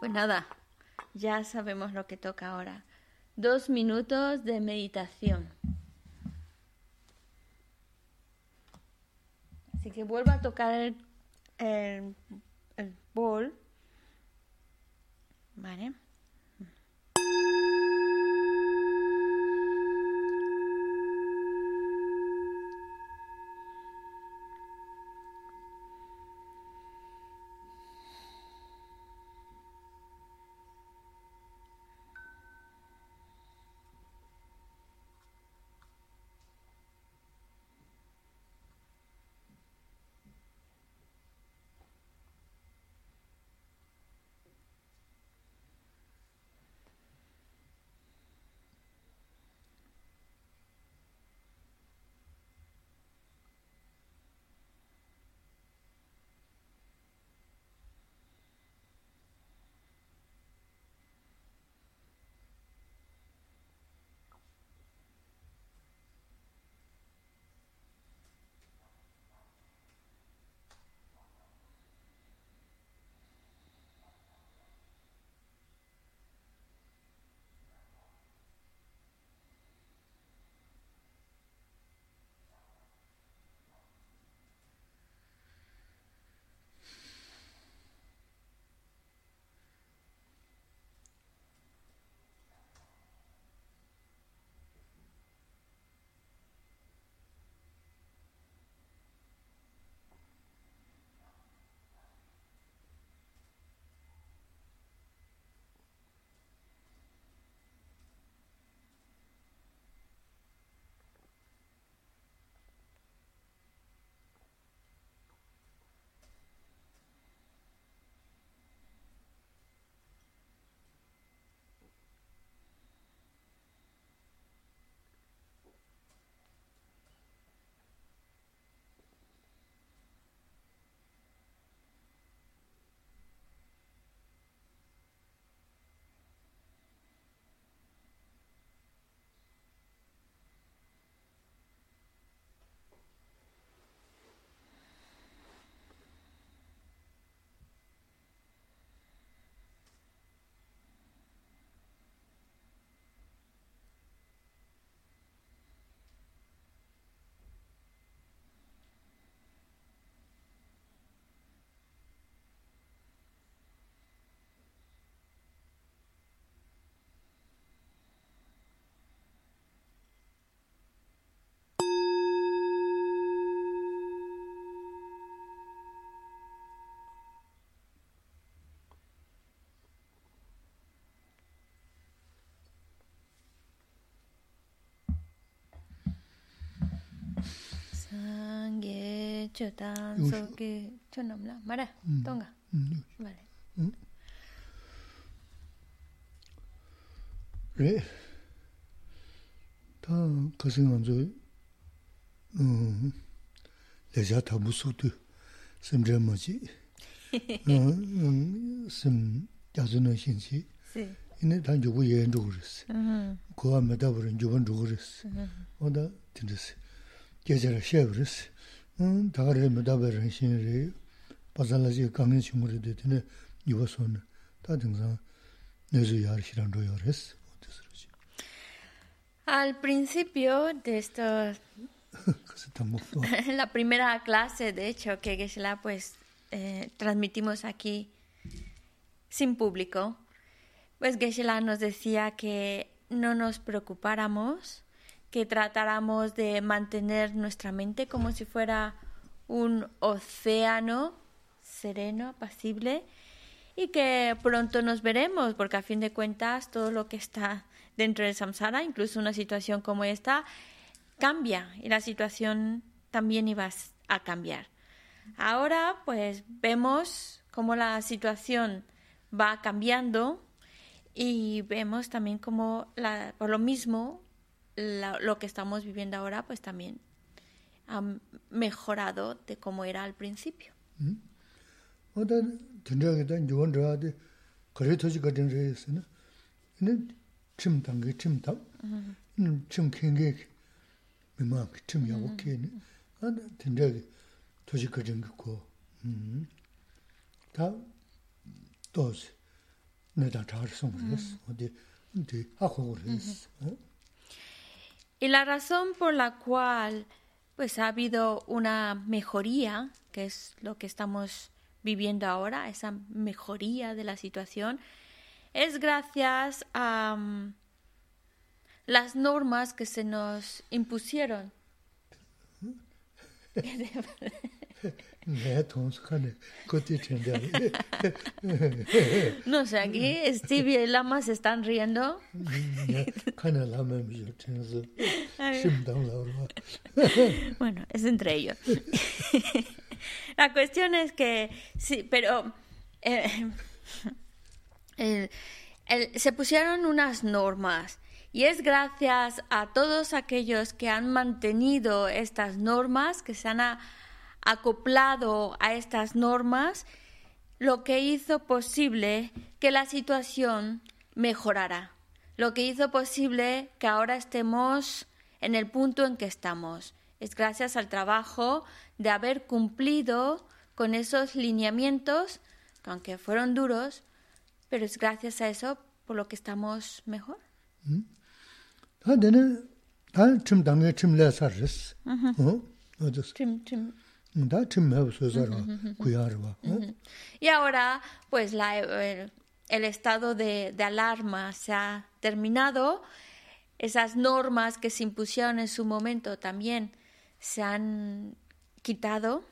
Pues nada, ya sabemos lo que toca ahora. 2 minutos de meditación. Así que vuelvo a tocar el bol. Vale. Sangye chotan soke chonamla mara tonga. Vale. Re ta kasinganzo leja tabusutu semjamaji sem yazuna shinchi ine tan jobu yenduris ko amadaburin joban duris oda tindis 계절의 쉐브르스 다가를 메다베른 신이 바살라지 강인 친구들 되네 이워선 다 등산 내주 야르시란 로요레스 어디서지 Al principio de esto la primera clase de hecho que Geshe-la pues transmitimos aquí sin público, pues Geshe-la nos decía que no nos preocupáramos, que tratáramos de mantener nuestra mente como si fuera un océano sereno, apacible, y que pronto nos veremos, porque a fin de cuentas todo lo que está dentro del samsara, incluso una situación como esta, cambia y la situación también iba a cambiar. Ahora pues vemos cómo la situación va cambiando y vemos también cómo por lo mismo lo que estamos viviendo ahora pues también ha mejorado de cómo era al principio. Y la razón por la cual pues ha habido una mejoría, que es lo que estamos viviendo ahora, esa mejoría de la situación, es gracias a las normas que se nos impusieron. No sé, aquí Stevie y Lama se están riendo. Bueno, es entre ellos. La cuestión es que sí, pero se pusieron unas normas y es gracias a todos aquellos que han mantenido estas normas, que se han acoplado a estas normas, lo que hizo posible que la situación mejorara, lo que hizo posible que ahora estemos en el punto en que estamos. Es gracias al trabajo de haber cumplido con esos lineamientos, que aunque fueron duros, pero es gracias a eso por lo que estamos mejor. Y ahora, pues el estado de alarma se ha terminado. Esas normas que se impusieron en su momento también se han quitado.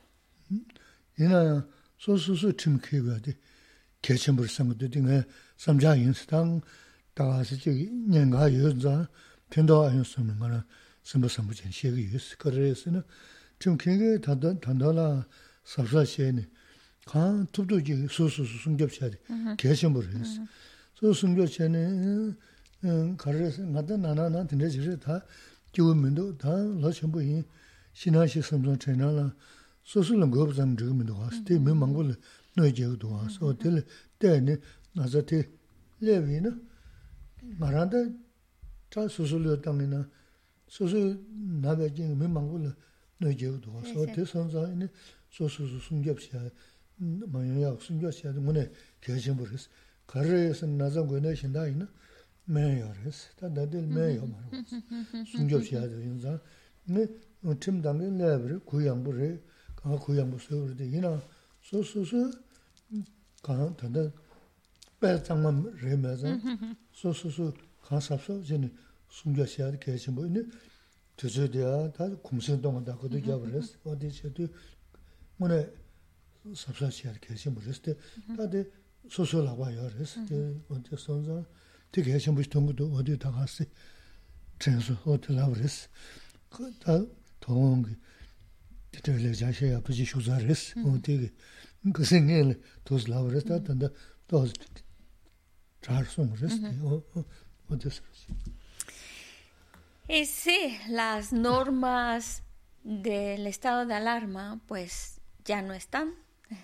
Y sí, las normas del estado de alarma pues ya no están,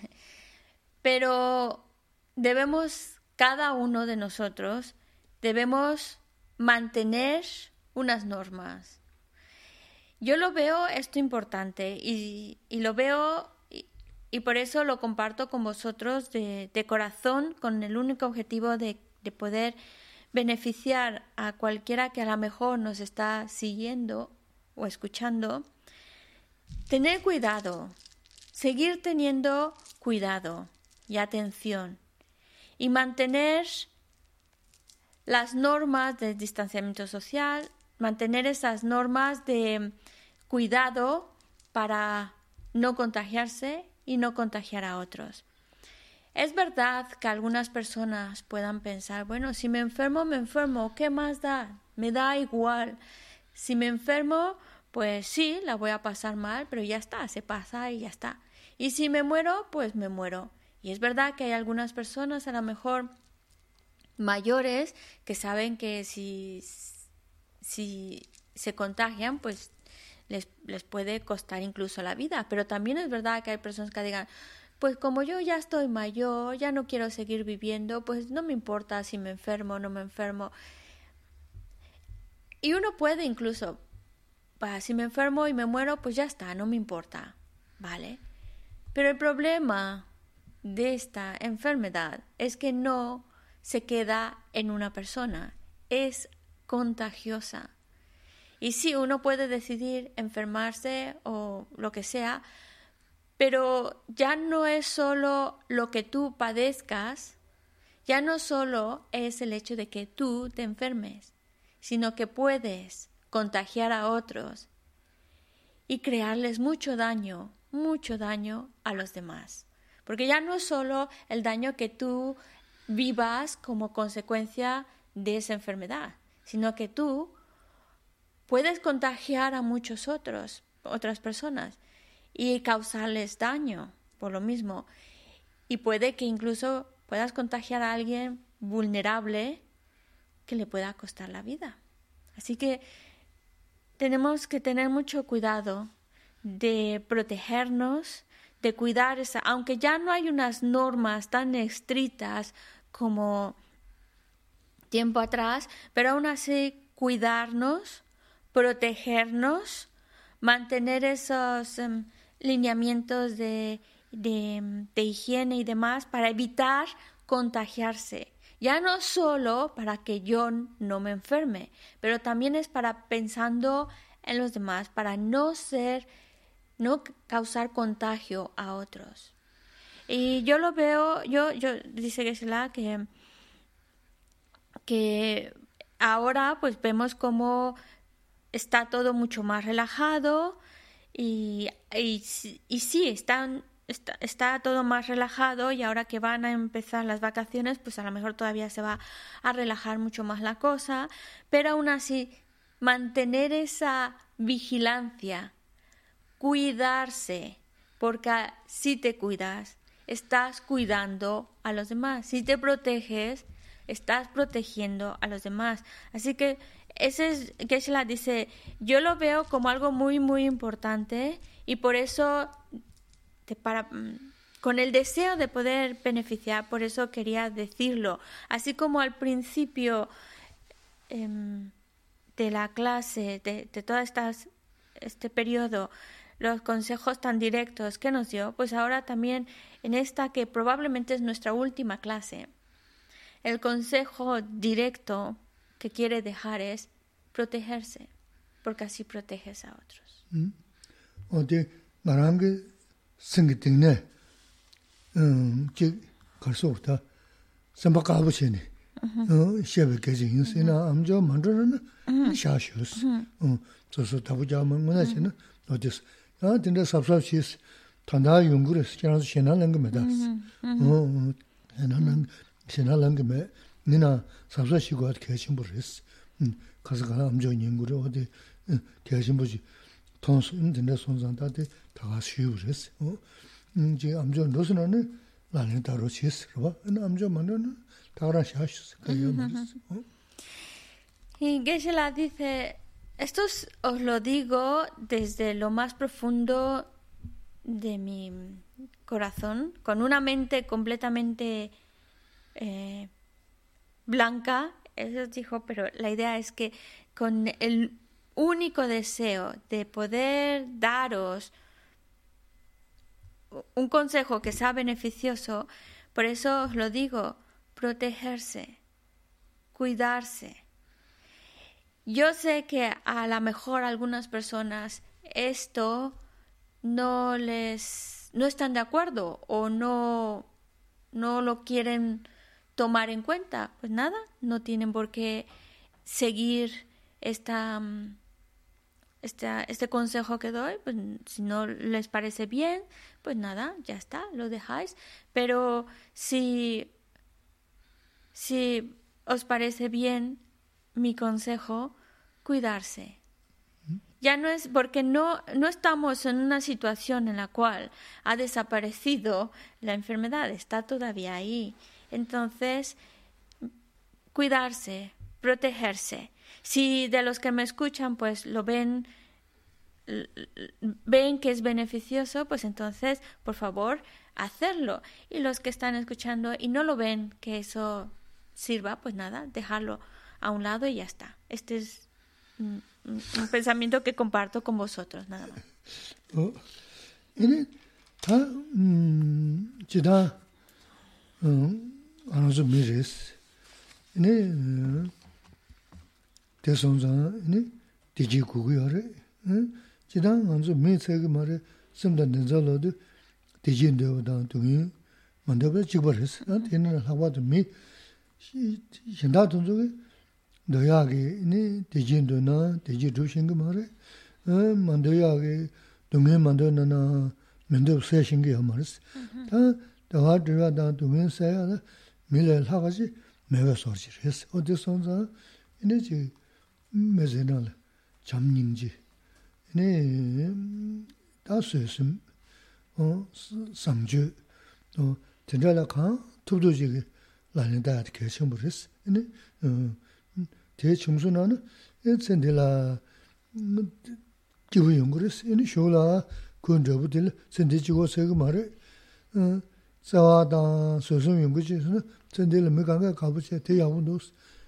pero cada uno de nosotros debemos mantener unas normas. Yo lo veo esto importante y lo veo y por eso lo comparto con vosotros de corazón, con el único objetivo de poder beneficiar a cualquiera que a lo mejor nos está siguiendo o escuchando. Tener cuidado, seguir teniendo cuidado y atención y mantener las normas de distanciamiento social, mantener esas normas de cuidado para no contagiarse y no contagiar a otros. Es verdad que algunas personas puedan pensar, bueno, si me enfermo, ¿qué más da? Me da igual. Si me enfermo, pues sí, la voy a pasar mal, pero ya está, se pasa y ya está. Y si me muero, pues me muero. Y es verdad que hay algunas personas, a lo mejor mayores, que saben que si se contagian, pues les puede costar incluso la vida. Pero también es verdad que hay personas que digan, pues como yo ya estoy mayor, ya no quiero seguir viviendo, pues no me importa si me enfermo o no me enfermo. Y uno puede incluso, si me enfermo y me muero, pues ya está, no me importa, ¿vale? Pero el problema de esta enfermedad es que no se queda en una persona. Es contagiosa. Y sí, uno puede decidir enfermarse o lo que sea, pero ya no es solo lo que tú padezcas, ya no solo es el hecho de que tú te enfermes, sino que puedes contagiar a otros y crearles mucho daño a los demás. Porque ya no es solo el daño que tú vivas como consecuencia de esa enfermedad, sino que tú puedes contagiar a otras personas y causarles daño por lo mismo. Y puede que incluso puedas contagiar a alguien vulnerable que le pueda costar la vida. Así que tenemos que tener mucho cuidado de protegernos, de cuidar aunque ya no hay unas normas tan estrictas como tiempo atrás, pero aún así cuidarnos, protegernos, mantener esos lineamientos de higiene y demás para evitar contagiarse. Ya no solo para que yo no me enferme, pero también es para pensando en los demás, para no causar contagio a otros. Y yo lo veo, dice Geshe-la que ahora pues vemos cómo está todo mucho más relajado y sí, está todo más relajado, y ahora que van a empezar las vacaciones, pues a lo mejor todavía se va a relajar mucho más la cosa, pero aún así mantener esa vigilancia, cuidarse, porque si te cuidas, estás cuidando a los demás. Si te proteges, estás protegiendo a los demás. Así que Geshe-la dice, yo lo veo como algo muy, muy importante, y por eso, con el deseo de poder beneficiar, por eso quería decirlo. Así como al principio de la clase, de todo este periodo, los consejos tan directos que nos dio, pues ahora también en esta que probablemente es nuestra última clase, el consejo directo que quiere dejar es protegerse, porque así proteges a otros. Y Geshe-la dice, esto os lo digo desde lo más profundo de mi corazón, con una mente completamente blanca. Eso dijo, pero la idea es que con el único deseo de poder daros un consejo que sea beneficioso, por eso os lo digo, protegerse, cuidarse. Yo sé que a lo mejor algunas personas esto no están de acuerdo o no lo quieren tomar en cuenta. Pues nada, no tienen por qué seguir este consejo que doy. Pues si no les parece bien, pues nada, ya está, lo dejáis. Pero si os parece bien mi consejo, cuidarse. Ya no es porque no estamos en una situación en la cual ha desaparecido la enfermedad, está todavía ahí. Entonces, cuidarse, protegerse. Si de los que me escuchan pues lo ven que es beneficioso, pues entonces, por favor, hacerlo. Y los que están escuchando y no lo ven que eso sirva, pues nada, dejarlo a un lado y ya está. Este es un pensamiento que comparto con vosotros, nada más. 네 대선자 네 디지 구구여래 지단 먼저 매체가 말에 섬단된 잘로도 디진데오다 동이 만들어 지버렸어 되는 하와도 미 신다 동족에 너야게 네 디진도나 디지 조신가 말에 만들어야게 동에 만들어나 면도 세신게 말았어 다 들어다 동에 세야 밀을 하가지 매가 소리했어 어디선자 이제 매제날 잠닝지 네 다스스 상주 전달라카 투도지게 라는다 개첨부렸어 네 대청소나는 센들라 기부 연구를 이 쇼라 군저부들 센데지고 세고 말에 자와다 소송 연구지에서는 센들을 메가가 가보지 대야운도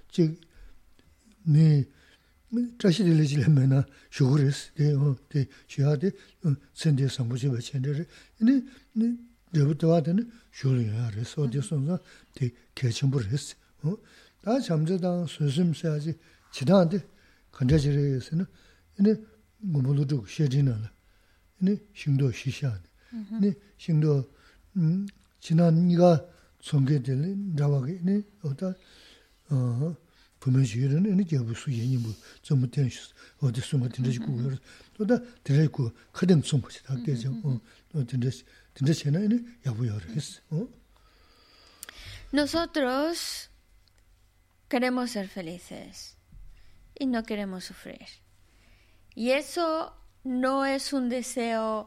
즉네 자신들이 지려면은 쇼그레스 대 시하데 센데 상부지 버친들 네 저부터 와는 쇼리야 그래서 어디선가 대 개첨부를 했어 다 잠자다 소심해야지 지나한테 간자지에서는 네 뭐물도 쉐지나라 네 힘도 시샤네 네 힘도 지난 니가 손게들 나와게 네 어다 보면시는 이 개부수 얘기 뭐 좀 텐시 어디 숨어 든지고 또다 드레고 크든 좀 보지 다게죠 든지는 야부여res Nosotros queremos ser felices y no queremos sufrir. Y eso no es un deseo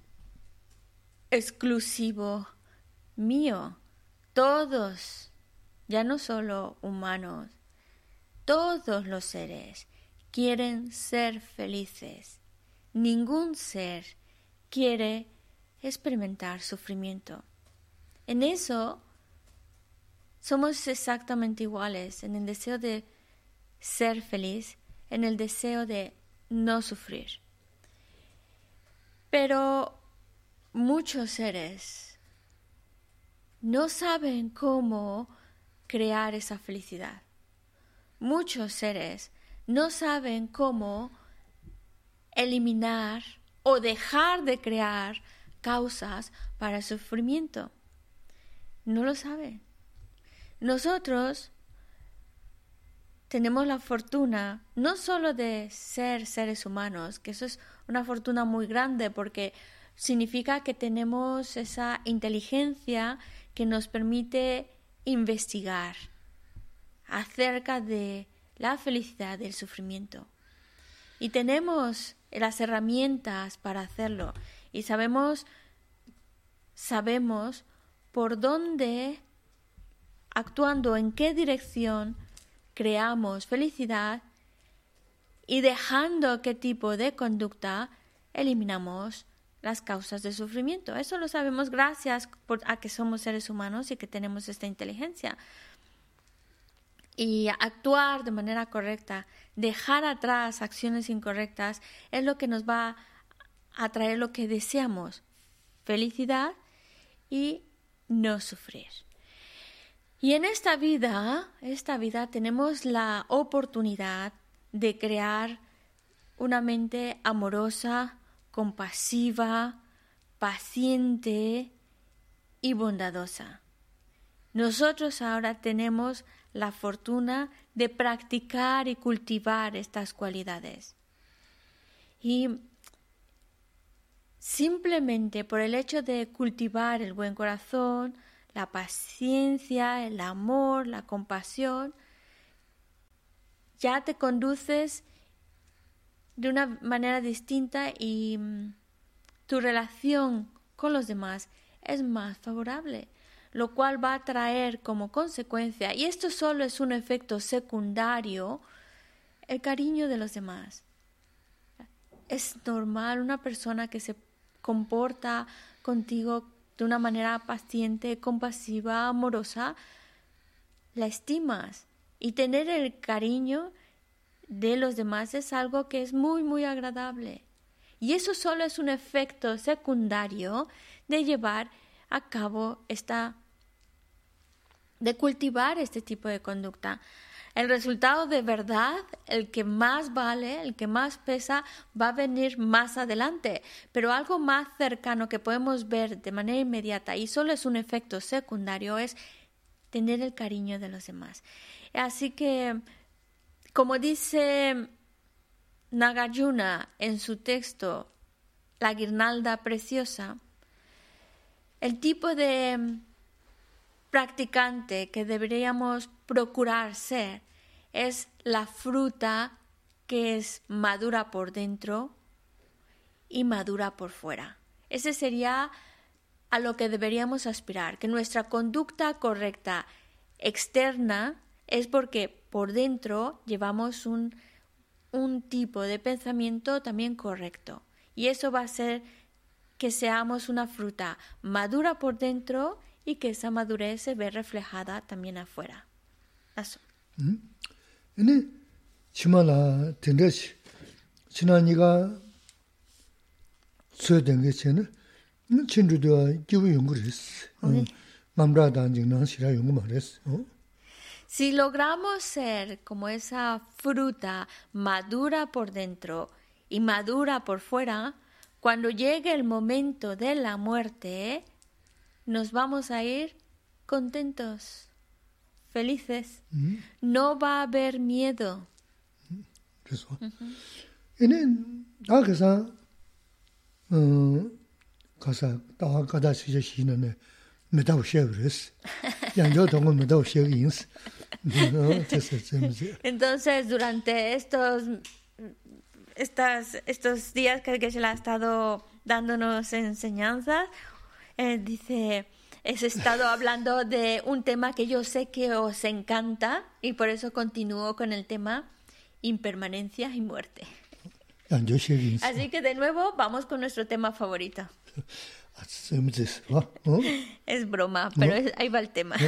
exclusivo mío. Todos, ya no solo humanos, todos los seres quieren ser felices. Ningún ser quiere experimentar sufrimiento. En eso somos exactamente iguales, en el deseo de ser feliz, en el deseo de no sufrir. Pero muchos seres no saben cómo crear esa felicidad. Muchos seres no saben cómo eliminar o dejar de crear causas para el sufrimiento. No lo saben. Nosotros tenemos la fortuna no solo de ser seres humanos, que eso es una fortuna muy grande porque significa que tenemos esa inteligencia que nos permite investigar acerca de la felicidad y el sufrimiento. Y tenemos las herramientas para hacerlo y sabemos por dónde, actuando en qué dirección creamos felicidad y dejando qué tipo de conducta eliminamos las causas de sufrimiento. Eso lo sabemos gracias a que somos seres humanos y que tenemos esta inteligencia. Y actuar de manera correcta, dejar atrás acciones incorrectas, es lo que nos va a traer lo que deseamos, felicidad y no sufrir. Y en esta vida tenemos la oportunidad de crear una mente amorosa, compasiva, paciente y bondadosa. Nosotros ahora tenemos la fortuna de practicar y cultivar estas cualidades. Y simplemente por el hecho de cultivar el buen corazón, la paciencia, el amor, la compasión, ya te conduces de una manera distinta y tu relación con los demás es más favorable, lo cual va a traer como consecuencia, y esto solo es un efecto secundario, el cariño de los demás. Es normal una persona que se comporta contigo de una manera paciente, compasiva, amorosa, la estimas, y tener el cariño de los demás es algo que es muy, muy agradable. Y eso solo es un efecto secundario de llevar a cabo esta de cultivar este tipo de conducta. El resultado de verdad, el que más vale, el que más pesa, va a venir más adelante. Pero algo más cercano que podemos ver de manera inmediata y solo es un efecto secundario es tener el cariño de los demás. Así que, como dice Nagarjuna en su texto, La guirnalda preciosa, el tipo de practicante que deberíamos procurar ser es la fruta que es madura por dentro y madura por fuera. Ese sería a lo que deberíamos aspirar, que nuestra conducta correcta externa es porque por dentro llevamos un tipo de pensamiento también correcto. Y eso va a hacer que seamos una fruta madura por dentro y que esa madurez se ve reflejada también afuera. Eso. Chimala tendechi, chinaniga suedengue chene, chinrudo gibu yunguris, mamra danjing shira yungumares. Si logramos ser como esa fruta madura por dentro y madura por fuera, cuando llegue el momento de la muerte, nos vamos a ir contentos, felices. No va a haber miedo. Eso. Casa cada shine me da shevres. Yanjo tongo me da shevins. Entonces, durante estos días que Geshe-la ha estado dándonos enseñanzas, dice, he estado hablando de un tema que yo sé que os encanta y por eso continúo con el tema impermanencia y muerte. Así que de nuevo vamos con nuestro tema favorito. Es broma, pero ahí va el tema.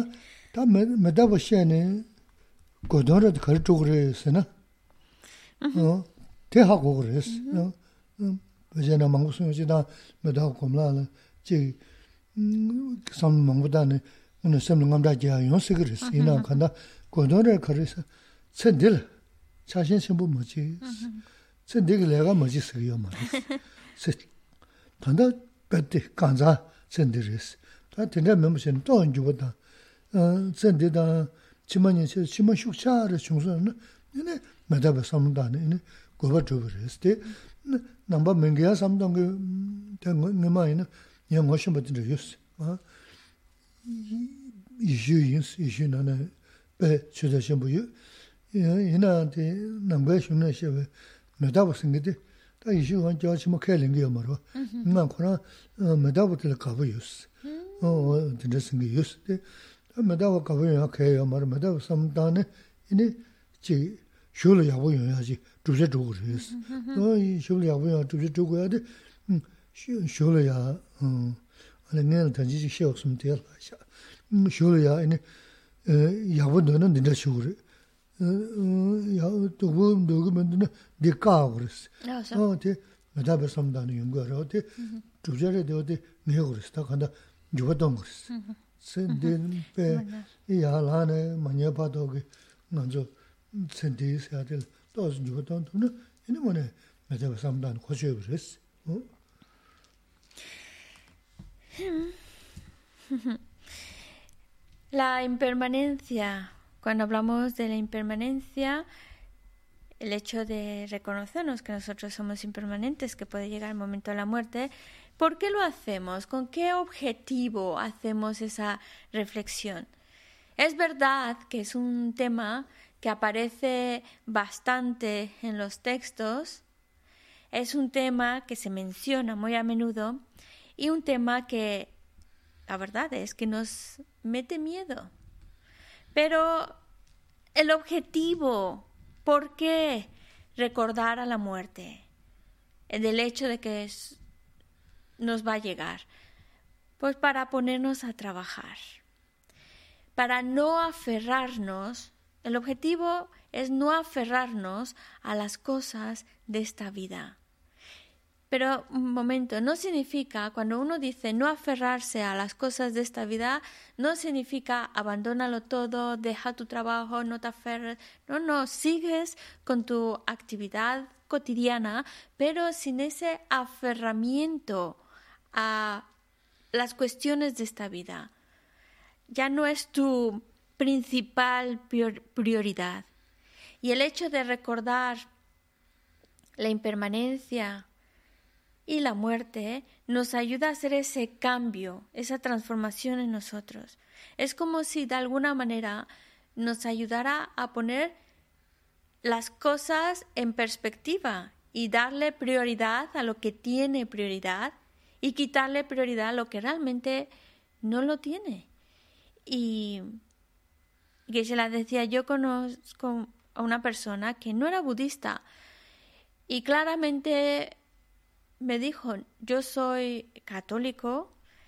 Tanda pete kanza sendiris. Ta tenda memshen to njuboda. Sendida chimanya chima shukchara chungsa ne medaba samdane ne goba juberes te namba mengya samdang te ngema ne yang ngoshimbatin yus. Ishu nana be chuda shimbu yu. Ina te namba shuna shebe medaba singide. 다 이슈가 저치마 켈링이요 말어. 나 코나 메다부터 가보요스. 진짜 유스. 메다부 가보요 해요 말 메다부 삼단에 이니 지 쇼를 야보요야지 주제 주고르스. 이 쇼를 야보요 주제 주고야 돼. 쇼를 아니 내가 단지 쉬어 없으면 돼요. 쇼를 야 이니 야보는 진짜 쇼를 야, 또 누구면은 네가 그랬어. 네, 메다베 삼다는 연구하러 어디 주제를 어디 내가 그랬어. 간다. 죽었던 그랬어. 선된 배 야라네 많이 봐도 그 먼저 선대해야 될 또 죽었던 돈은 이는 뭐네. 메다베 삼다는 고쳐 그랬어. La impermanencia. Cuando hablamos de la impermanencia, el hecho de reconocernos que nosotros somos impermanentes, que puede llegar el momento de la muerte, ¿por qué lo hacemos? ¿Con qué objetivo hacemos esa reflexión? Es verdad que es un tema que aparece bastante en los textos, es un tema que se menciona muy a menudo y un tema que, la verdad es que nos mete miedo. Pero el objetivo, ¿por qué recordar a la muerte? Del hecho de que nos va a llegar. Pues para ponernos a trabajar. Para no aferrarnos, el objetivo es no aferrarnos a las cosas de esta vida. Pero un momento, no significa, cuando uno dice no aferrarse a las cosas de esta vida, no significa abandónalo todo, deja tu trabajo, no te aferres. No, sigues con tu actividad cotidiana, pero sin ese aferramiento a las cuestiones de esta vida. Ya no es tu principal prioridad. Y el hecho de recordar la impermanencia y la muerte nos ayuda a hacer ese cambio, esa transformación en nosotros. Es como si de alguna manera nos ayudara a poner las cosas en perspectiva y darle prioridad a lo que tiene prioridad y quitarle prioridad a lo que realmente no lo tiene. Y Geshe-la decía, yo conozco a una persona que no era budista y claramente me dijo, yo soy católico,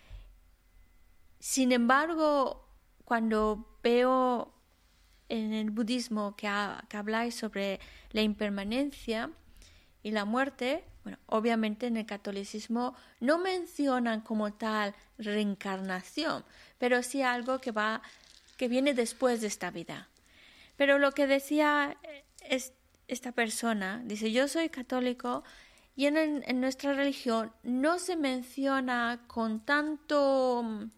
sin embargo, cuando veo en el budismo que habláis sobre la impermanencia y la muerte, bueno, obviamente en el catolicismo no mencionan como tal reencarnación, pero sí algo que viene después de esta vida. Pero lo que decía esta persona, dice, yo soy católico y en nuestra religión no se menciona con tanto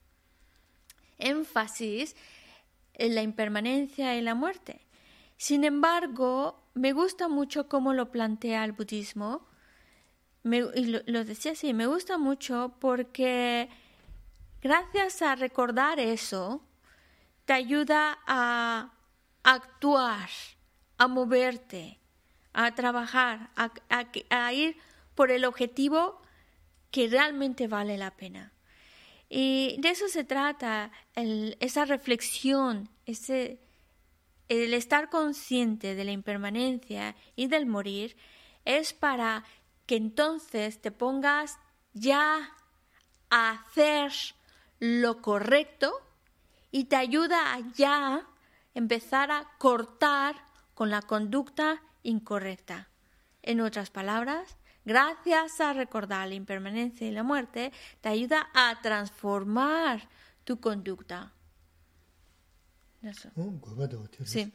énfasis en la impermanencia y la muerte. Sin embargo, me gusta mucho cómo lo plantea el budismo. Y lo decía así, me gusta mucho porque gracias a recordar eso, te ayuda a actuar, a moverte, a trabajar, a ir por el objetivo que realmente vale la pena. Y de eso se trata, esa reflexión, el estar consciente de la impermanencia y del morir, es para que entonces te pongas ya a hacer lo correcto y te ayuda a ya empezar a cortar con la conducta incorrecta. En otras palabras, gracias a recordar la impermanencia y la muerte, te ayuda a transformar tu conducta. Eso. Sí.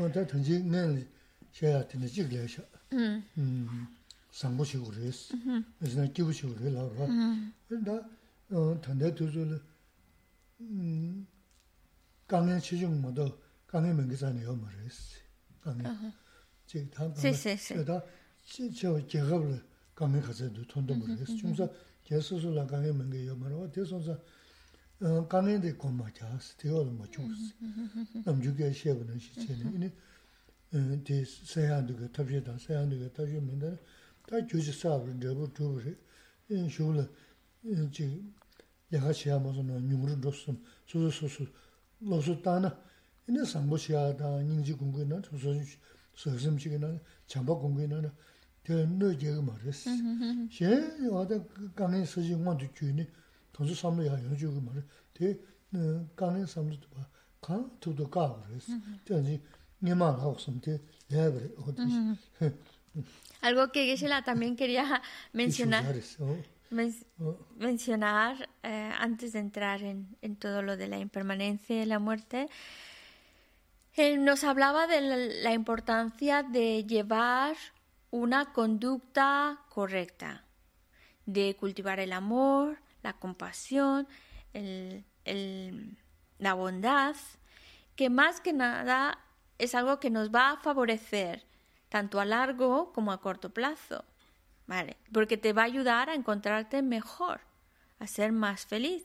Algo que Geshe-la también quería mencionar antes de entrar en todo lo de la impermanencia y la muerte. Nos hablaba de la importancia de llevar una conducta correcta, de cultivar el amor, la compasión, la bondad, que más que nada es algo que nos va a favorecer tanto a largo como a corto plazo, ¿vale? Porque te va a ayudar a encontrarte mejor, a ser más feliz.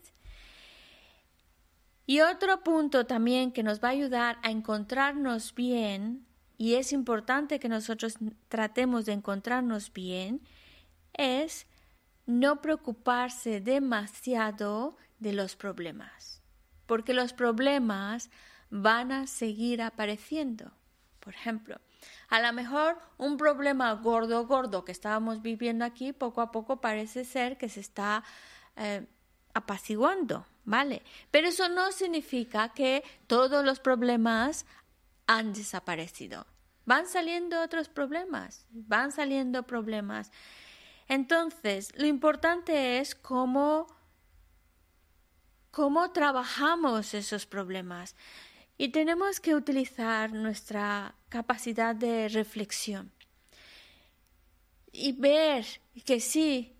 Y otro punto también que nos va a ayudar a encontrarnos bien, y es importante que nosotros tratemos de encontrarnos bien, es no preocuparse demasiado de los problemas, porque los problemas van a seguir apareciendo. Por ejemplo, a lo mejor un problema gordo que estábamos viviendo aquí, poco a poco parece ser que se está apaciguando, ¿vale? Pero eso no significa que todos los problemas han desaparecido. Van saliendo otros problemas, van saliendo problemas. Entonces, lo importante es cómo trabajamos esos problemas. Y tenemos que utilizar nuestra capacidad de reflexión y ver que sí,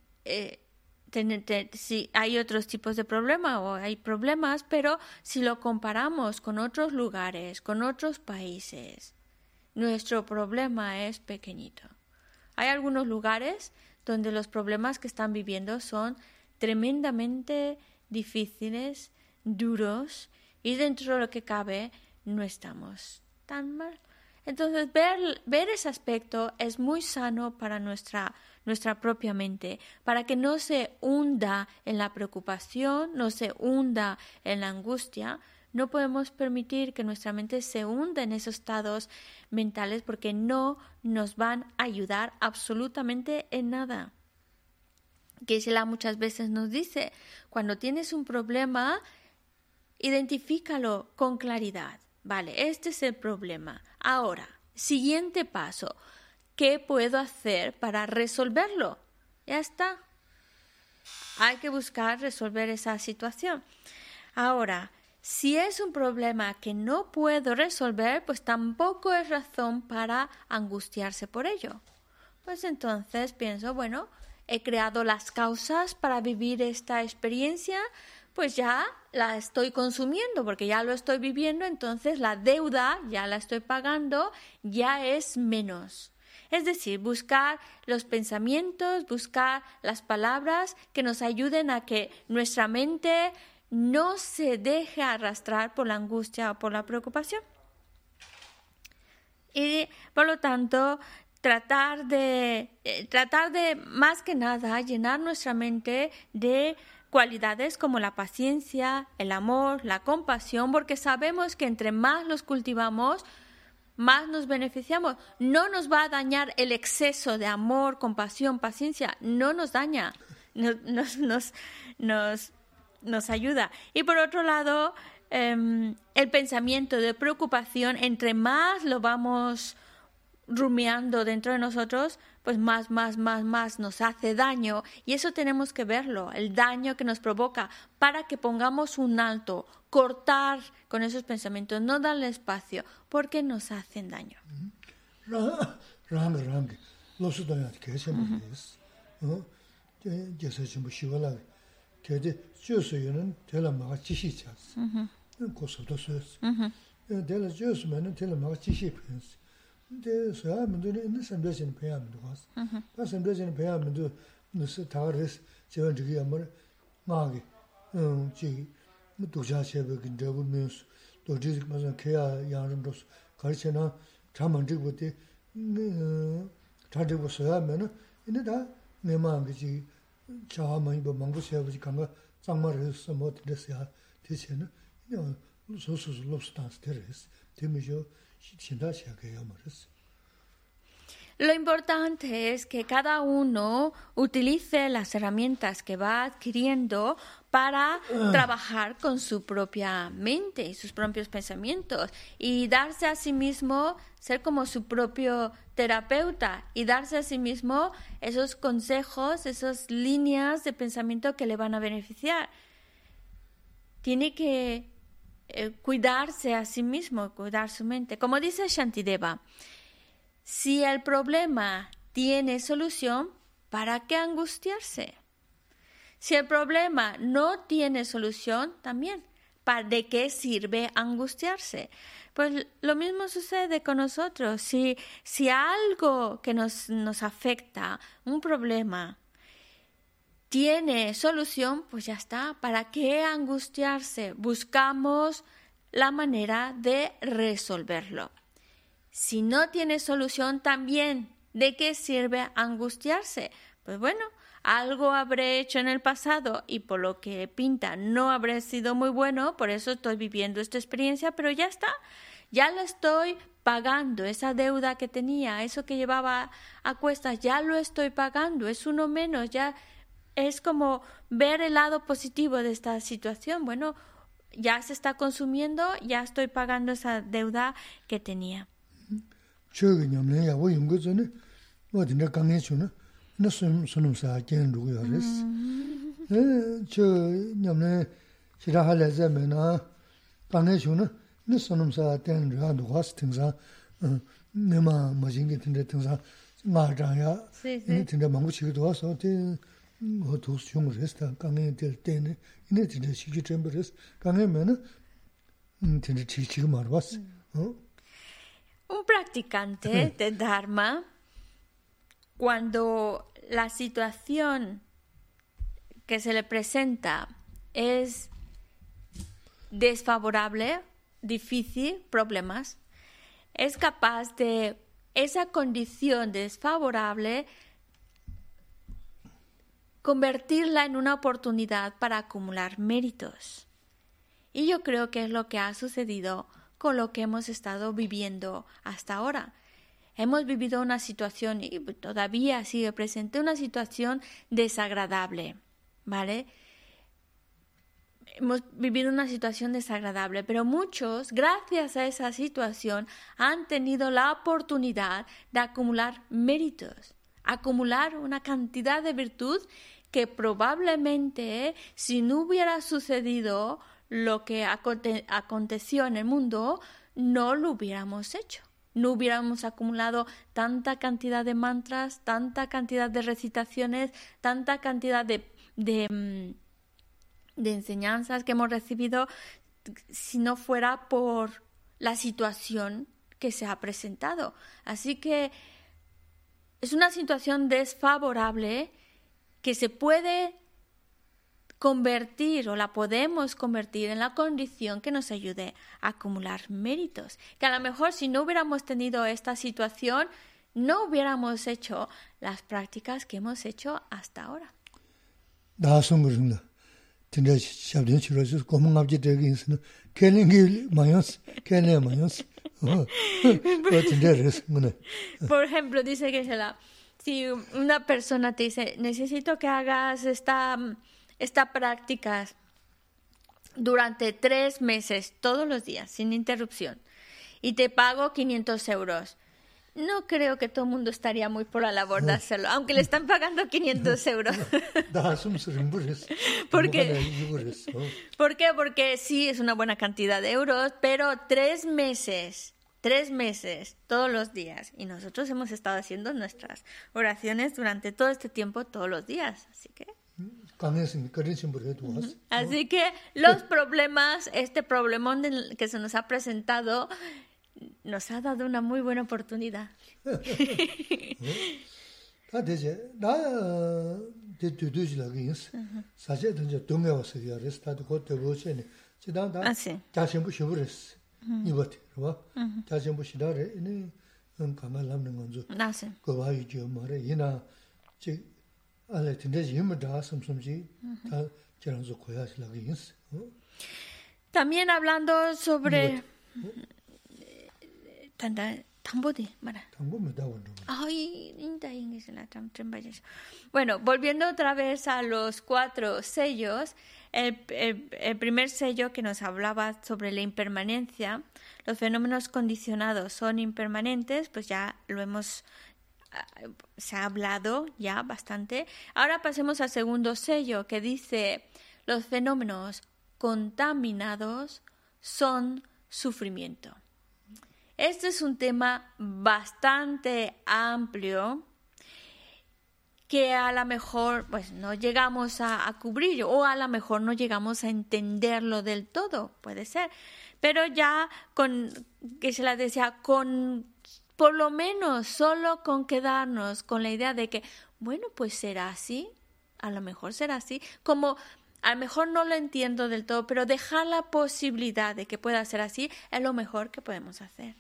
sí hay otros tipos de problemas o hay problemas, pero si lo comparamos con otros lugares, con otros países, nuestro problema es pequeñito. Hay algunos lugares donde los problemas que están viviendo son tremendamente difíciles, duros, y dentro de lo que cabe no estamos tan mal. Entonces, ver ese aspecto es muy sano para nuestra propia mente, para que no se hunda en la preocupación, no se hunda en la angustia. No podemos permitir que nuestra mente se hunda en esos estados mentales porque no nos van a ayudar absolutamente en nada. Geshe-la muchas veces nos dice, cuando tienes un problema, identifícalo con claridad. Vale, este es el problema. Ahora, siguiente paso. ¿Qué puedo hacer para resolverlo? Ya está. Hay que buscar resolver esa situación. Ahora, si es un problema que no puedo resolver, pues tampoco es razón para angustiarse por ello. Pues entonces pienso, bueno, he creado las causas para vivir esta experiencia, pues ya la estoy consumiendo porque ya lo estoy viviendo, entonces la deuda ya la estoy pagando, ya es menos. Es decir, buscar los pensamientos, buscar las palabras que nos ayuden a que nuestra mente no se deje arrastrar por la angustia o por la preocupación. Y por lo tanto, tratar de más que nada llenar nuestra mente de cualidades como la paciencia, el amor, la compasión, porque sabemos que entre más los cultivamos, más nos beneficiamos. No nos va a dañar el exceso de amor, compasión, paciencia, no nos daña, nos ayuda. Y por otro lado, el pensamiento de preocupación, entre más lo vamos rumiando dentro de nosotros, pues más nos hace daño, y eso tenemos que verlo, el daño que nos provoca, para que pongamos un alto, cortar con esos pensamientos, no darle espacio, porque nos hacen daño. de soya mendo ne sambesin pya mendo was pa sambesin pya mendo ne se tares jeon ji yamar ma ge ji du ja chebe ge de bu news do ji ma san ke ya yang dos gar chena chaman ji bu de ta de bu soya men ne da ne ma ge ji cha ma ba mang bu che bu ji kan ga zang ma re so mo de se ya de che ne yo so lo stans teres de me jo. Lo importante es que cada uno utilice las herramientas que va adquiriendo para trabajar con su propia mente y sus propios pensamientos, y darse a sí mismo, ser como su propio terapeuta y darse a sí mismo esos consejos, esas líneas de pensamiento que le van a beneficiar. Tiene que cuidarse a sí mismo, cuidar su mente. Como dice Shantideva, si el problema tiene solución, ¿para qué angustiarse? Si el problema no tiene solución, también, ¿de qué sirve angustiarse? Pues lo mismo sucede con nosotros. Si algo que nos afecta, un problema, tiene solución, pues ya está. ¿Para qué angustiarse? Buscamos la manera de resolverlo. Si no tiene solución, también, ¿de qué sirve angustiarse? Pues bueno, algo habré hecho en el pasado y por lo que pinta no habré sido muy bueno, por eso estoy viviendo esta experiencia, pero ya está. Ya la estoy pagando, esa deuda que tenía, eso que llevaba a cuestas, ya lo estoy pagando, es uno menos, ya. Es como ver el lado positivo de esta situación. Bueno, ya se está consumiendo, ya estoy pagando esa deuda que tenía. no sonum sa gen ru yo res cho nyamne shira hala zamena kane shuna no sonum sa ten ra do was tingsa nema majingi tinde tingsa ma ja ya ni tinde mangu chigido waso te ho to shung resta kane del tene ni tinde shigi chembres kane mena tinde chichi mar was Un practicante de Dharma, cuando la situación que se le presenta es desfavorable, difícil, problemas, es capaz de esa condición desfavorable convertirla en una oportunidad para acumular méritos. Y yo creo que es lo que ha sucedido con lo que hemos estado viviendo hasta ahora. Hemos vivido una situación, y todavía sigue presente, una situación desagradable, ¿vale? Hemos vivido una situación desagradable, pero muchos, gracias a esa situación, han tenido la oportunidad de acumular méritos, acumular una cantidad de virtud que probablemente, si no hubiera sucedido lo que aconteció en el mundo, no lo hubiéramos hecho. No hubiéramos acumulado tanta cantidad de mantras, tanta cantidad de recitaciones, tanta cantidad de enseñanzas que hemos recibido si no fuera por la situación que se ha presentado. Así que es una situación desfavorable que se puede convertir o la podemos convertir en la condición que nos ayude a acumular méritos. Que a lo mejor si no hubiéramos tenido esta situación, no hubiéramos hecho las prácticas que hemos hecho hasta ahora. Por ejemplo, dice que si una persona te dice, necesito que hagas esta práctica durante 3 meses, todos los días, sin interrupción, y te pago 500 euros. No creo que todo el mundo estaría muy por la labor de hacerlo, aunque le están pagando 500 euros. ¿Por qué? Porque sí, es una buena cantidad de euros, pero 3 meses, todos los días. Y nosotros hemos estado haciendo nuestras oraciones durante todo este tiempo, todos los días. Así que los problemas, este problemón que se nos ha presentado, nos ha dado una muy buena oportunidad. También hablando sobre bueno, volviendo otra vez a los 4 sellos, el primer sello que nos hablaba sobre la impermanencia, los fenómenos condicionados son impermanentes, pues ya se ha hablado ya bastante. Ahora pasemos al segundo sello que dice, los fenómenos contaminados son sufrimiento. Este es un tema bastante amplio que a lo mejor pues no llegamos a cubrir o a lo mejor no llegamos a entenderlo del todo, puede ser. Pero ya por lo menos solo con quedarnos con la idea de que, bueno, pues será así, a lo mejor será así, como a lo mejor no lo entiendo del todo, pero dejar la posibilidad de que pueda ser así es lo mejor que podemos hacer.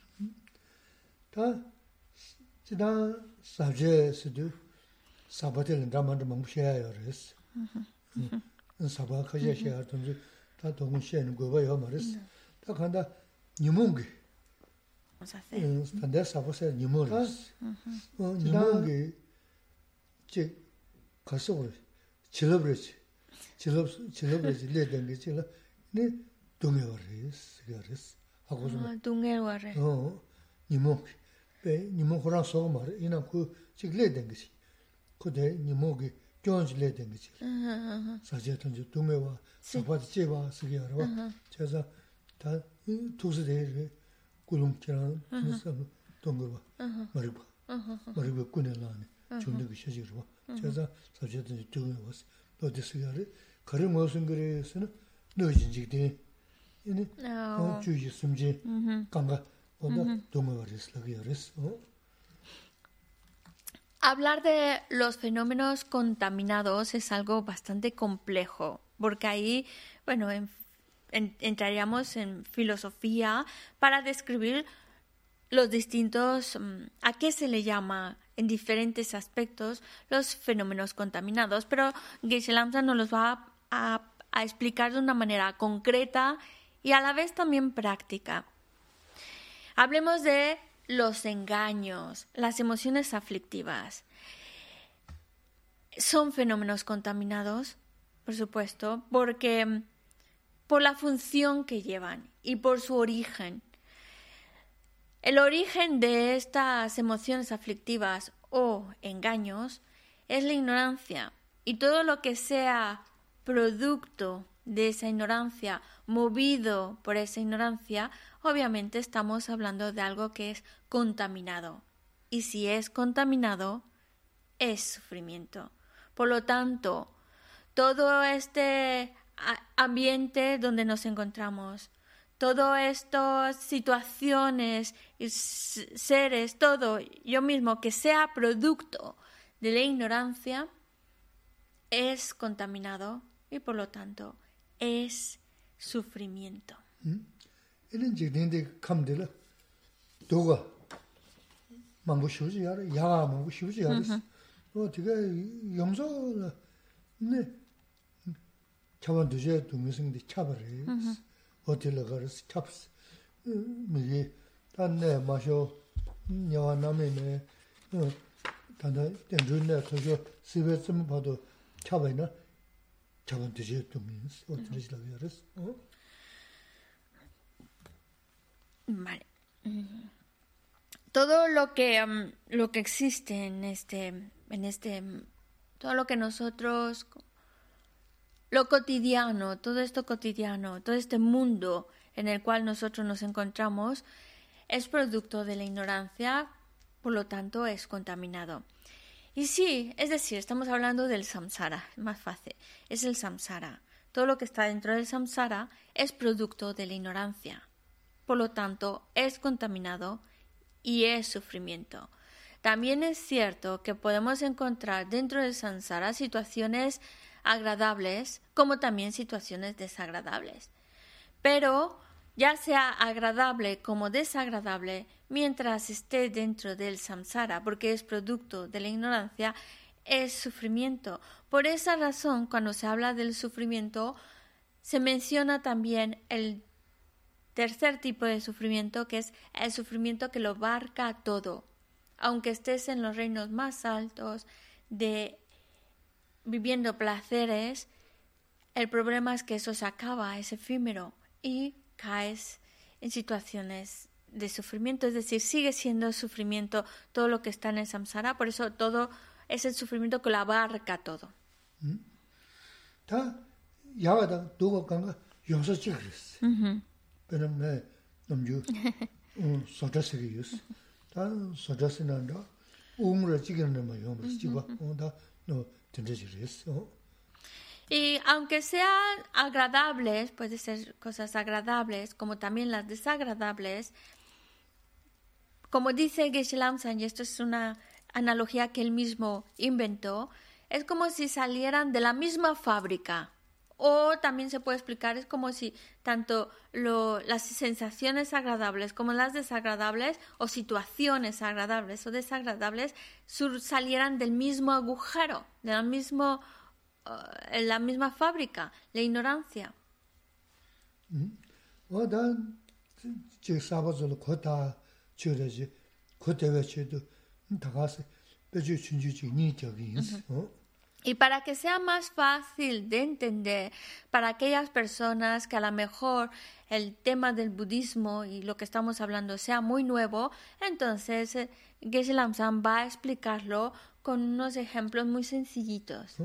그대 니모기 교원실에 된 거지. 사제던지 동해와 사바지 제바 쓰게 하러. 제가 다 도스대를 구름처럼 무슨 동거 봐. 머리가 꾸내라네. 존재가 시지로 봐. 제가 사제던지 동해와 또 됐어요. 그런 무슨 그래서는 너진지대 이네 주의 숨지 감가 onda Hablar de los fenómenos contaminados es algo bastante complejo, porque ahí, bueno, entraríamos en filosofía para describir los distintos, a qué se le llama en diferentes aspectos los fenómenos contaminados, pero Geshe Lhamsa nos los va a explicar de una manera concreta y a la vez también práctica. Hablemos de los engaños, las emociones aflictivas. Son fenómenos contaminados, por supuesto, porque por la función que llevan y por su origen. El origen de estas emociones aflictivas o engaños es la ignorancia, y todo lo que sea producto de esa ignorancia, movido por esa ignorancia, obviamente estamos hablando de algo que es contaminado. Y si es contaminado, es sufrimiento. Por lo tanto, todo este ambiente donde nos encontramos, todas estas situaciones y seres, todo yo mismo que sea producto de la ignorancia, es contaminado y por lo tanto es sufrimiento. 이런 지인데 감들어 도가 망고 쉬우지 알아 야 망고 쉬우지 알았어 어디가 영서 네 차원 두제 동영상인데 차버려 어디로 가서 찹스 이게 단내 마셔 녀와 남에네 단다 된준네 그저 집에 좀 봐도 차버리나 차원 두제 동영상 어디로 가서 Vale. Todo lo que existe en este todo lo que nosotros, lo cotidiano, todo esto cotidiano, todo este mundo en el cual nosotros nos encontramos es producto de la ignorancia, por lo tanto es contaminado. Y sí, es decir, estamos hablando del samsara, es más fácil, es el samsara. Todo lo que está dentro del samsara es producto de la ignorancia. Por lo tanto, es contaminado y es sufrimiento. También es cierto que podemos encontrar dentro del samsara situaciones agradables como también situaciones desagradables. Pero, ya sea agradable como desagradable, mientras esté dentro del samsara, porque es producto de la ignorancia, es sufrimiento. Por esa razón, cuando se habla del sufrimiento, se menciona también el tercer tipo de sufrimiento, que es el sufrimiento que lo abarca todo. Aunque estés en los reinos más altos, viviendo placeres, el problema es que eso se acaba, es efímero, y caes en situaciones de sufrimiento. Es decir, sigue siendo sufrimiento todo lo que está en el samsara, por eso todo es el sufrimiento que lo abarca todo. pero me nomju sotasirius ta sotasinanda umra chigen ma yom chiba onda no tendrejiris. Y aunque sean agradables, puede ser cosas agradables como también las desagradables, como dice Geshe Lhamsa, y esto es una analogía que él mismo inventó, es como si salieran de la misma fábrica. O también se puede explicar, es como si tanto las sensaciones agradables como las desagradables, o situaciones agradables o desagradables, salieran del mismo agujero, de la misma fábrica, la ignorancia. Y para que sea más fácil de entender para aquellas personas que a lo mejor el tema del budismo y lo que estamos hablando sea muy nuevo, entonces Geshe Lamsam va a explicarlo con unos ejemplos muy sencillitos.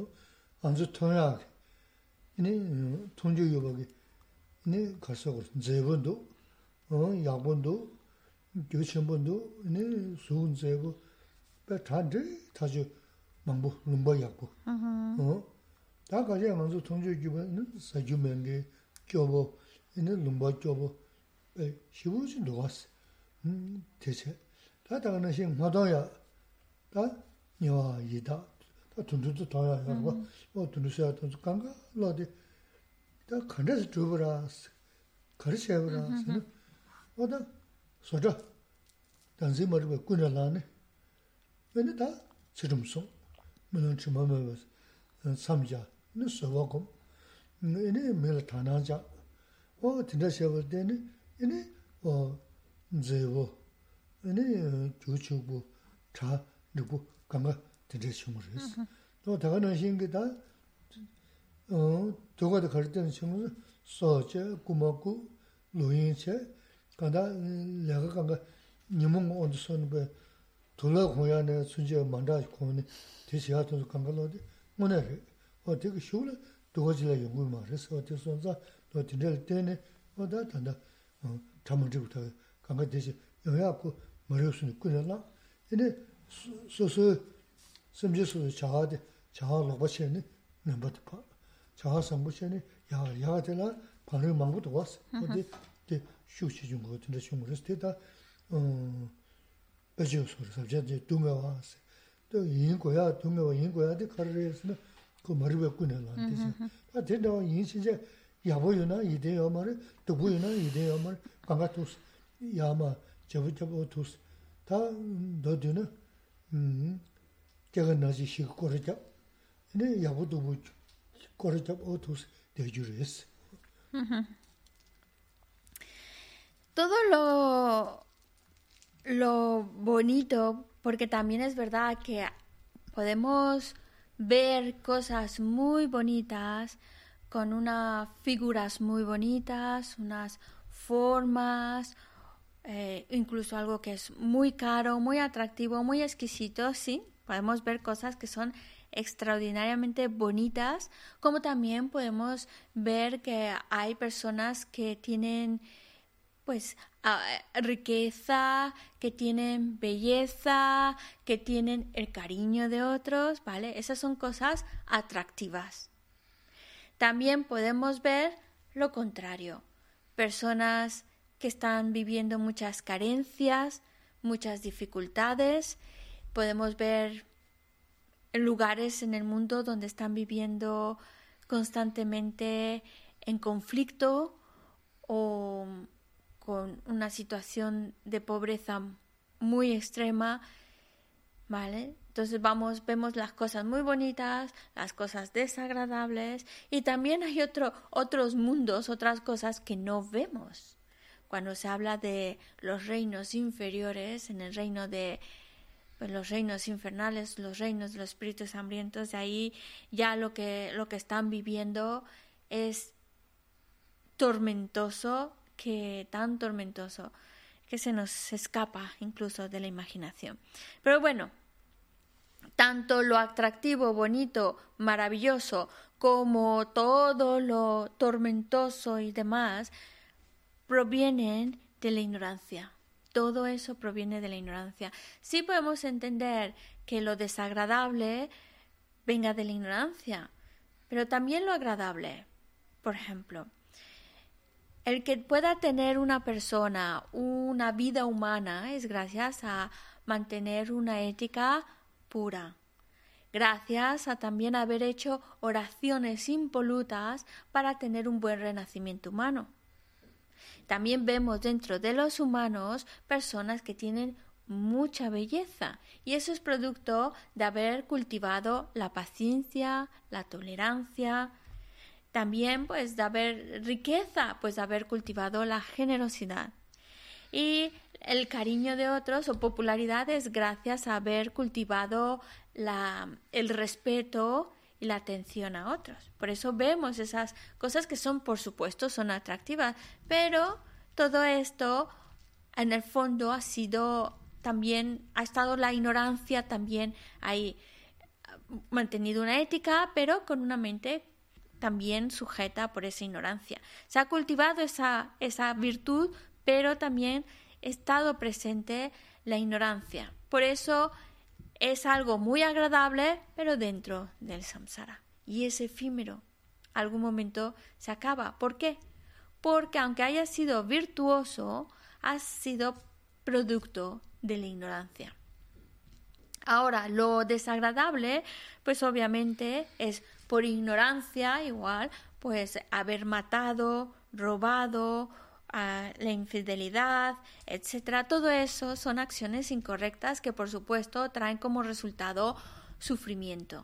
망보 lumba yakbo. Da kaja manzo tongjo gyuba sajyu menge gyobo, lumba gyobo, shivu jin dogas. Teche. Da daga na shing madaya, da nyawa yida, da tundudu taya yarwa, tundusuya tundu kanga lode, da kandasa chubara, karisayabara, da soja, danzi mariba kuna lane, da chirumsong. 물론 주마면 삼자 누서고 이네 매일 다나자 진짜 시험을 때는 이네 제보 이네 조초부 자 누구 강가 진짜 시험을 했어 또 다가는 신기다 저거도 갈 때는 시험을 소제 고맙고 노인체 가다 내가 강가 님은 어디서는 왜 돌아 고야네 순지에 만다 고네 대시하도 강가로데 뭐네 되게 쉬울래 도가지라 연구 말해서 어디서서 또 dinner 때네 단다 잠을부터 강가 대시 영야고 머리수는 끊어라 근데 소소 심지어서 자하데 자하로 버치네 넘버도 봐 자하 상부시네 야야들라 반을 망고도 왔어 어디 휴식 좀 같은데 좀 그랬다 배주소를 sabjade dunga was to yin goya dunga wa yin goya de karresna ko marbe kunela dise ta tendo yin sinje yaboyuna ide yomare to buyuna ide yomare kangatus yama jabutus ta doduna 제가 나지 시고 거르자 네 야보도 뭐 거르자 오tus de jures todo lo bonito, porque también es verdad que podemos ver cosas muy bonitas, con unas figuras muy bonitas, unas formas, incluso algo que es muy caro, muy atractivo, muy exquisito, sí, podemos ver cosas que son extraordinariamente bonitas, como también podemos ver que hay personas que tienen pues riqueza, que tienen belleza, que tienen el cariño de otros, ¿vale? Esas son cosas atractivas. También podemos ver lo contrario, personas que están viviendo muchas carencias, muchas dificultades. Podemos ver lugares en el mundo donde están viviendo constantemente en conflicto o con una situación de pobreza muy extrema, ¿vale? Entonces vemos las cosas muy bonitas, las cosas desagradables, y también hay otros mundos, otras cosas que no vemos. Cuando se habla de los reinos inferiores, en el reino de los reinos infernales, los reinos de los espíritus hambrientos, de ahí ya lo que están viviendo es tormentoso, tan tormentoso que se nos escapa incluso de la imaginación. Pero bueno, tanto lo atractivo, bonito, maravilloso, como todo lo tormentoso y demás, provienen de la ignorancia. Todo eso proviene de la ignorancia. Sí podemos entender que lo desagradable venga de la ignorancia, pero también lo agradable. Por ejemplo, el que pueda tener una persona una vida humana es gracias a mantener una ética pura, gracias a también haber hecho oraciones impolutas para tener un buen renacimiento humano. También vemos dentro de los humanos personas que tienen mucha belleza, y eso es producto de haber cultivado la paciencia, la tolerancia. También pues de haber riqueza, pues de haber cultivado la generosidad. Y el cariño de otros o popularidad es gracias a haber cultivado el respeto y la atención a otros. Por eso vemos esas cosas que son, por supuesto, son atractivas, pero todo esto en el fondo ha estado la ignorancia también ahí, mantenido una ética, pero con una mente también sujeta por esa ignorancia. Se ha cultivado esa virtud, pero también ha estado presente la ignorancia. Por eso es algo muy agradable, pero dentro del samsara. Y es efímero. Algún momento se acaba. ¿Por qué? Porque aunque haya sido virtuoso, ha sido producto de la ignorancia. Ahora, lo desagradable, pues obviamente es por ignorancia, igual, pues haber matado, robado, la infidelidad, etcétera. Todo eso son acciones incorrectas que, por supuesto, traen como resultado sufrimiento.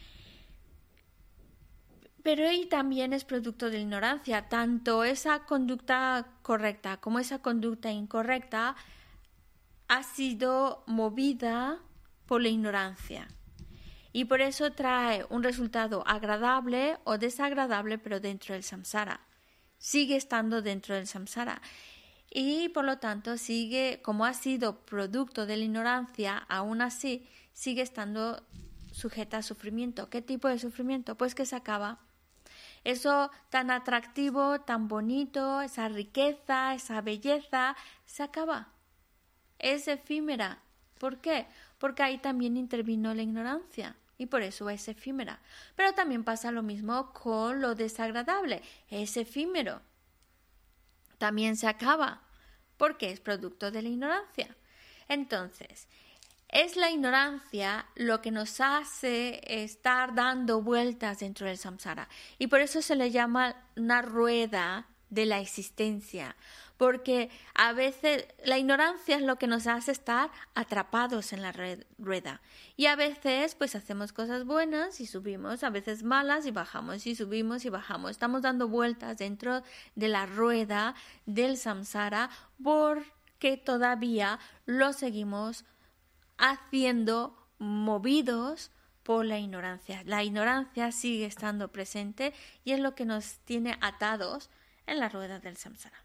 Pero y también es producto de la ignorancia. Tanto esa conducta correcta como esa conducta incorrecta ha sido movida por la ignorancia. Y por eso trae un resultado agradable o desagradable, pero dentro del samsara. Sigue estando dentro del samsara. Y por lo tanto, como ha sido producto de la ignorancia, aún así sigue estando sujeta a sufrimiento. ¿Qué tipo de sufrimiento? Pues que se acaba. Eso tan atractivo, tan bonito, esa riqueza, esa belleza, se acaba. Es efímera. ¿Por qué? Porque ahí también intervino la ignorancia y por eso es efímera. Pero también pasa lo mismo con lo desagradable. Es efímero. También se acaba porque es producto de la ignorancia. Entonces, es la ignorancia lo que nos hace estar dando vueltas dentro del samsara. Y por eso se le llama una rueda de la existencia. Porque a veces la ignorancia es lo que nos hace estar atrapados en la rueda. Y a veces pues hacemos cosas buenas y subimos, a veces malas y bajamos, y subimos y bajamos. Estamos dando vueltas dentro de la rueda del samsara porque todavía lo seguimos haciendo movidos por la ignorancia. La ignorancia sigue estando presente y es lo que nos tiene atados en la rueda del samsara.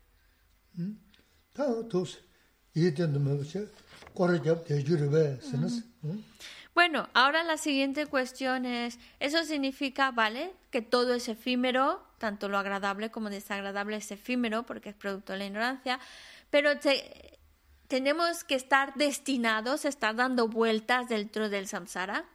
Bueno, ahora la siguiente cuestión es, ¿eso significa, vale, que todo es efímero, tanto lo agradable como desagradable es efímero porque es producto de la ignorancia, pero tenemos que estar destinados a estar dando vueltas dentro del samsara?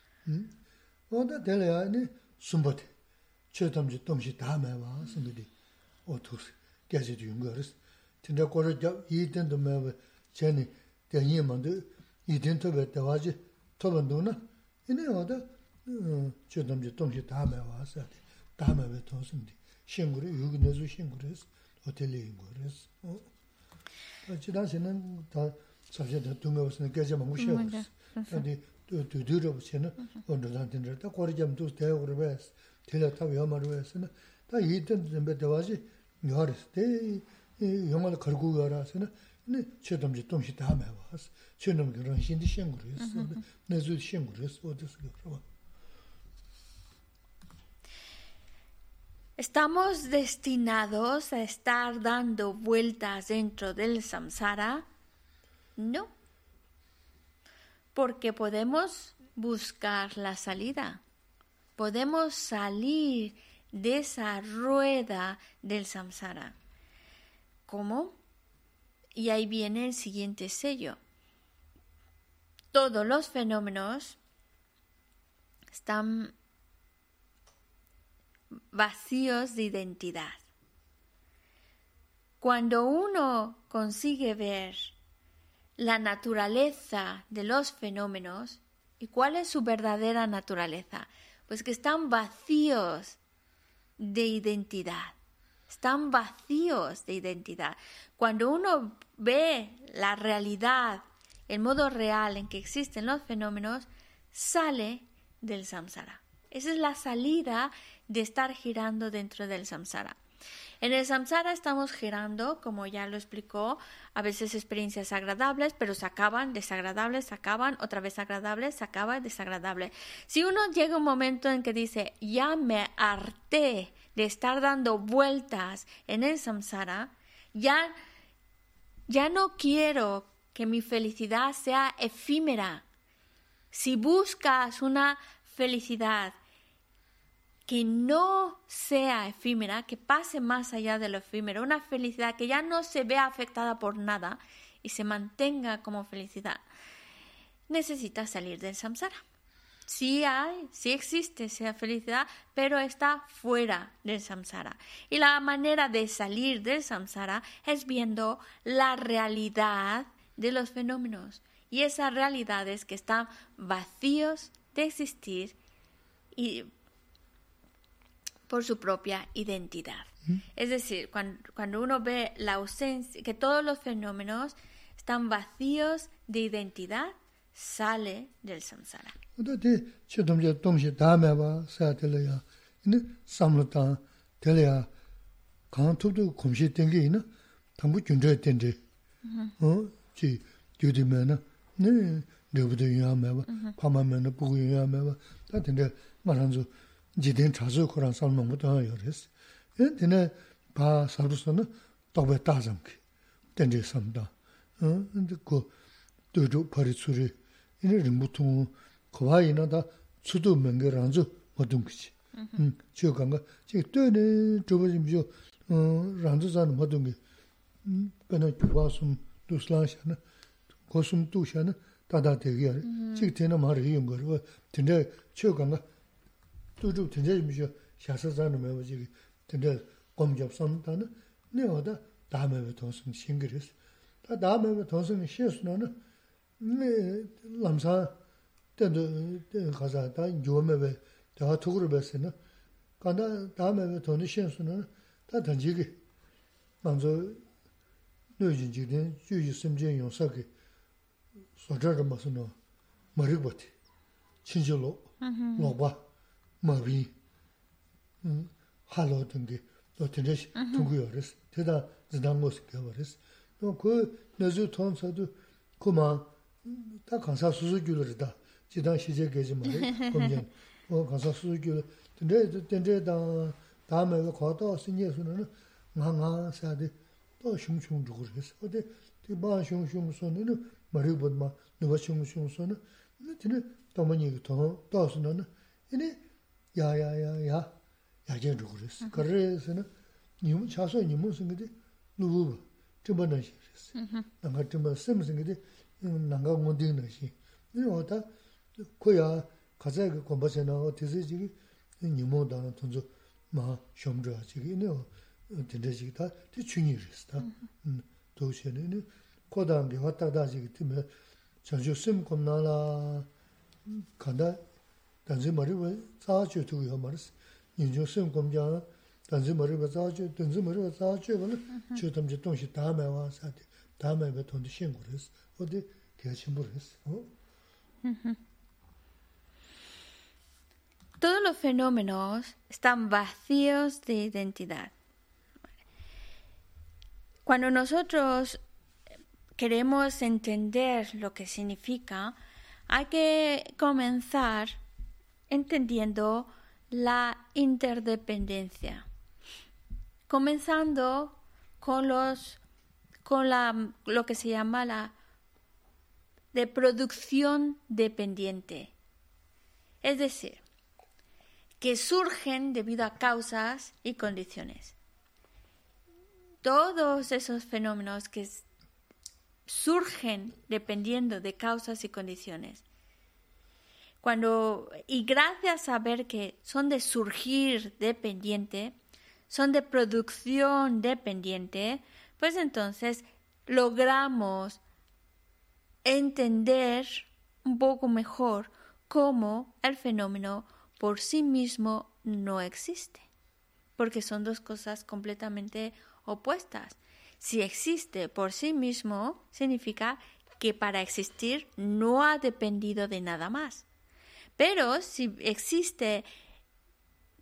Tinda kora jab yidin to mewa chani tenyi mandu yidin to be tawaji tobando na ine wada chodamji tongshi tamewa asali tamewa tongsindi shinguri yugi nezu shinguris hoteli yunguris chidansinan ta sabshe da tungawasina gaja mangu shewus tandi dudurabu chena ondodan tindra ta kora jab tus tayagura bes tila tabi yamaru besina ta yidin to be tawaji yoris te 영화를 걸고 가라서는 네 최점지 동시 다 해봐서 최놈 그런 신디 신구르스 내주 신구르스 어디서 그러 ¿Estamos destinados a estar dando vueltas dentro del samsara? No. Porque podemos buscar la salida. Podemos salir de esa rueda del samsara. ¿Cómo? Y ahí viene el siguiente sello. Todos los fenómenos están vacíos de identidad. Cuando uno consigue ver la naturaleza de los fenómenos, ¿y cuál es su verdadera naturaleza? Pues que están vacíos de identidad. Están vacíos de identidad. Cuando uno ve la realidad, el modo real en que existen los fenómenos, sale del samsara. Esa es la salida de estar girando dentro del samsara. En el samsara estamos girando, como ya lo explicó, a veces experiencias agradables, pero se acaban, desagradables, se acaban, otra vez agradables, se acaba, desagradable. Si uno llega a un momento en que dice, ya me harté de estar dando vueltas en el samsara, ya no quiero que mi felicidad sea efímera. Si buscas una felicidad que no sea efímera, que pase más allá de lo efímero, una felicidad que ya no se vea afectada por nada y se mantenga como felicidad, necesitas salir del samsara. Sí existe esa felicidad, pero está fuera del samsara. Y la manera de salir del samsara es viendo la realidad de los fenómenos. Y esas realidades que están vacíos de existir y por su propia identidad. Es decir, cuando uno ve la ausencia, que todos los fenómenos están vacíos de identidad, sale del samsara. 지된 자주 코란 살면 못 하요 그랬어. 근데 바 살부서는 또배 따장게 된지 삼다. 근데 그 도도 버리수리 이는 무통 거와이나다 수도 መንገ란주 모든 거지. 저간가 지 뜨는 저버지죠. 란주자는 모든 게 그나 주와숨 두슬라샤나 고숨 두샤나 다다되게 지테나 말이 연 거로 근데 저간가 또도 된제미죠. 샤서자는 뭐지? 근데 검접선다는 내가 다음에 도선 싱글스. 다 다음에 도선 시스는 네 람사 때도 가자다 요매베 다 투구를 besse는 간다 다음에 도는 시스는 다 던지게 먼저 뇌진지된 주의 심전 용사게 소저를 무슨 머리부터 친절로 로바 마비 할로 등게 또 되듯이 통구요레스 대다 지난 모습 겨버렸어 또그 내주 통서도 그만 다 간사 수수규를다 지단 시제 계지 말이 검전 간사 수수규 근데 다음에 거도 신예수는 나가 사대 또 슝슝 주고 그랬어 근데 그 슝슝 손은 머리보다 누가 슝슝 손은 근데 또만이 더 또서는 이네 야야야야 야제 주고 그랬어 그래서는 님 차서 님은 생각이 누구 저번에 했어 내가 좀 생각이 나가 못 되는 시 이거다 거야 가자 그 공부하잖아 어디서 지금 님모다는 돈도 마 쇼ම්저 지금 된대지다 뒤중이랬다 도시에는 고단계 왔다다 지금 때문에 전주 심 겁나라 간다 단지 머리가 자주 두고 말았어 인조 심 검장 단지 머리가 자주 단지 머리가 자주는 저덤지 동시 다음에 와서 다음에 그 돈도 신고했어 어디 개침부했어 Todos los fenómenos están vacíos de identidad. Cuando nosotros queremos entender lo que significa, hay que comenzar entendiendo la interdependencia. Comenzando con lo que se llama la de producción dependiente. Es decir, que surgen debido a causas y condiciones. Todos esos fenómenos que surgen dependiendo de causas y condiciones. Y gracias a ver que son de surgir dependiente, son de producción dependiente, pues entonces logramos entender un poco mejor cómo el fenómeno por sí mismo no existe, porque son dos cosas completamente opuestas. Si existe por sí mismo, significa que para existir no ha dependido de nada más. Pero si existe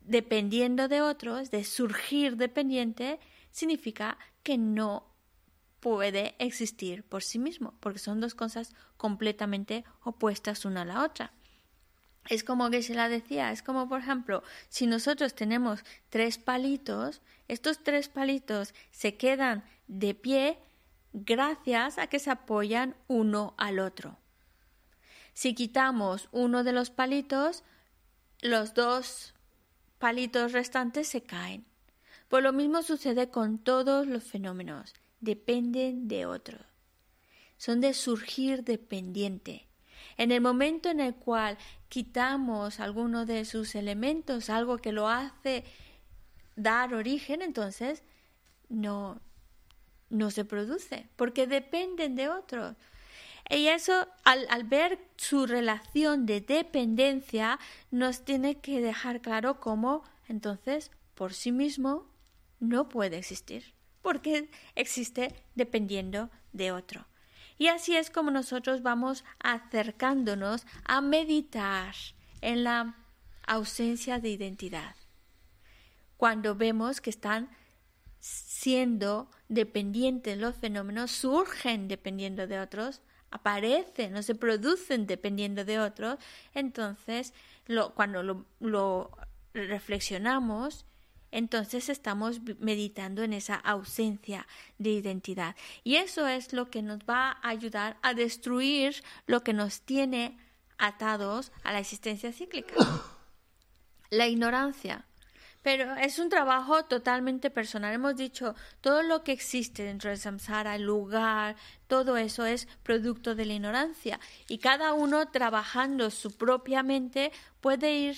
dependiendo de otros, de surgir dependiente, significa que no puede existir por sí mismo, porque son dos cosas completamente opuestas una a la otra. Es como que se la decía, es como por ejemplo, si nosotros tenemos 3 palitos, estos 3 palitos se quedan de pie gracias a que se apoyan uno al otro. Si quitamos uno de los palitos, los 2 palitos restantes se caen. Pues lo mismo sucede con todos los fenómenos, dependen de otros. Son de surgir dependiente. En el momento en el cual quitamos alguno de sus elementos, algo que lo hace dar origen, entonces no se produce, porque dependen de otros. Y eso, al ver su relación de dependencia, nos tiene que dejar claro cómo, entonces, por sí mismo, no puede existir, porque existe dependiendo de otro. Y así es como nosotros vamos acercándonos a meditar en la ausencia de identidad. Cuando vemos que están siendo dependientes los fenómenos, surgen dependiendo de otros, aparecen o se producen dependiendo de otros, entonces cuando lo reflexionamos, entonces estamos meditando en esa ausencia de identidad. Y eso es lo que nos va a ayudar a destruir lo que nos tiene atados a la existencia cíclica. La ignorancia. Pero es un trabajo totalmente personal. Hemos dicho, todo lo que existe dentro del samsara, el lugar, todo eso es producto de la ignorancia. Y cada uno trabajando su propia mente puede ir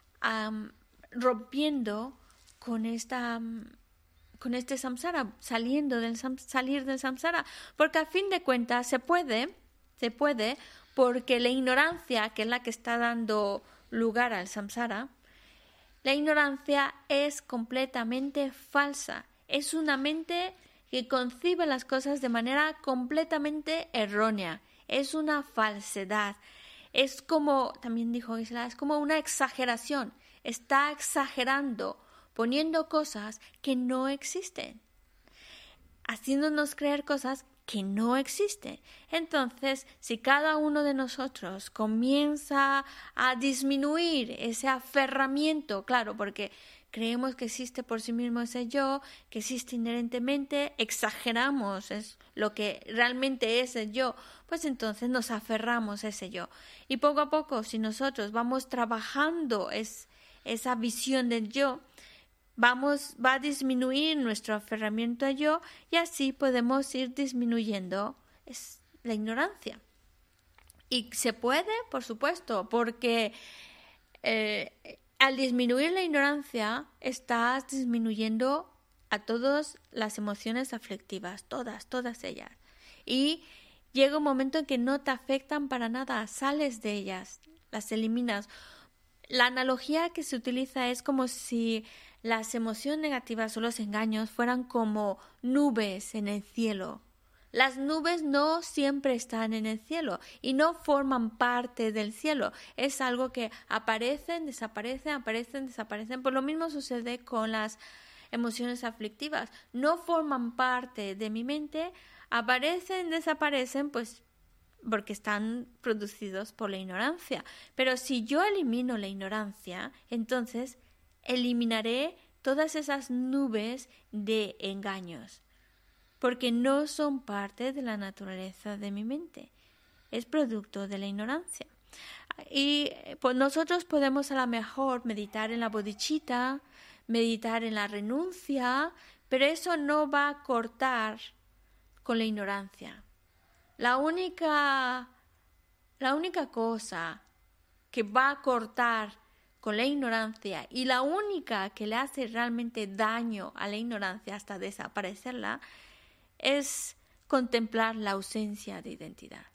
rompiendo con este samsara, salir del samsara, porque a fin de cuentas se puede, porque la ignorancia, que es la que está dando lugar al samsara, la ignorancia es completamente falsa. Es una mente que concibe las cosas de manera completamente errónea. Es una falsedad. Es como, también dijo Gisela, es como una exageración. Está exagerando, poniendo cosas que no existen, haciéndonos creer cosas que no existen. Entonces, si cada uno de nosotros comienza a disminuir ese aferramiento, claro, porque creemos que existe por sí mismo ese yo, que existe inherentemente, exageramos es lo que realmente es el yo, pues entonces nos aferramos a ese yo. Y poco a poco, si nosotros vamos trabajando esa visión del yo, va a disminuir nuestro aferramiento a yo y así podemos ir disminuyendo la ignorancia. Y se puede, por supuesto, porque al disminuir la ignorancia estás disminuyendo a todas las emociones aflictivas, todas ellas. Y llega un momento en que no te afectan para nada, sales de ellas, las eliminas. La analogía que se utiliza es como si las emociones negativas o los engaños fueran como nubes en el cielo. Las nubes no siempre están en el cielo y no forman parte del cielo. Es algo que aparecen, desaparecen. Pues lo mismo sucede con las emociones aflictivas. No forman parte de mi mente, aparecen, desaparecen, pues porque están producidos por la ignorancia. Pero si yo elimino la ignorancia, entonces eliminaré todas esas nubes de engaños, porque no son parte de la naturaleza de mi mente, es producto de la ignorancia. Y pues nosotros podemos a lo mejor meditar en la bodhicitta, meditar en la renuncia, pero eso no va a cortar con la ignorancia. La única cosa que va a cortar con la ignorancia y la única que le hace realmente daño a la ignorancia hasta desaparecerla es contemplar la ausencia de identidad.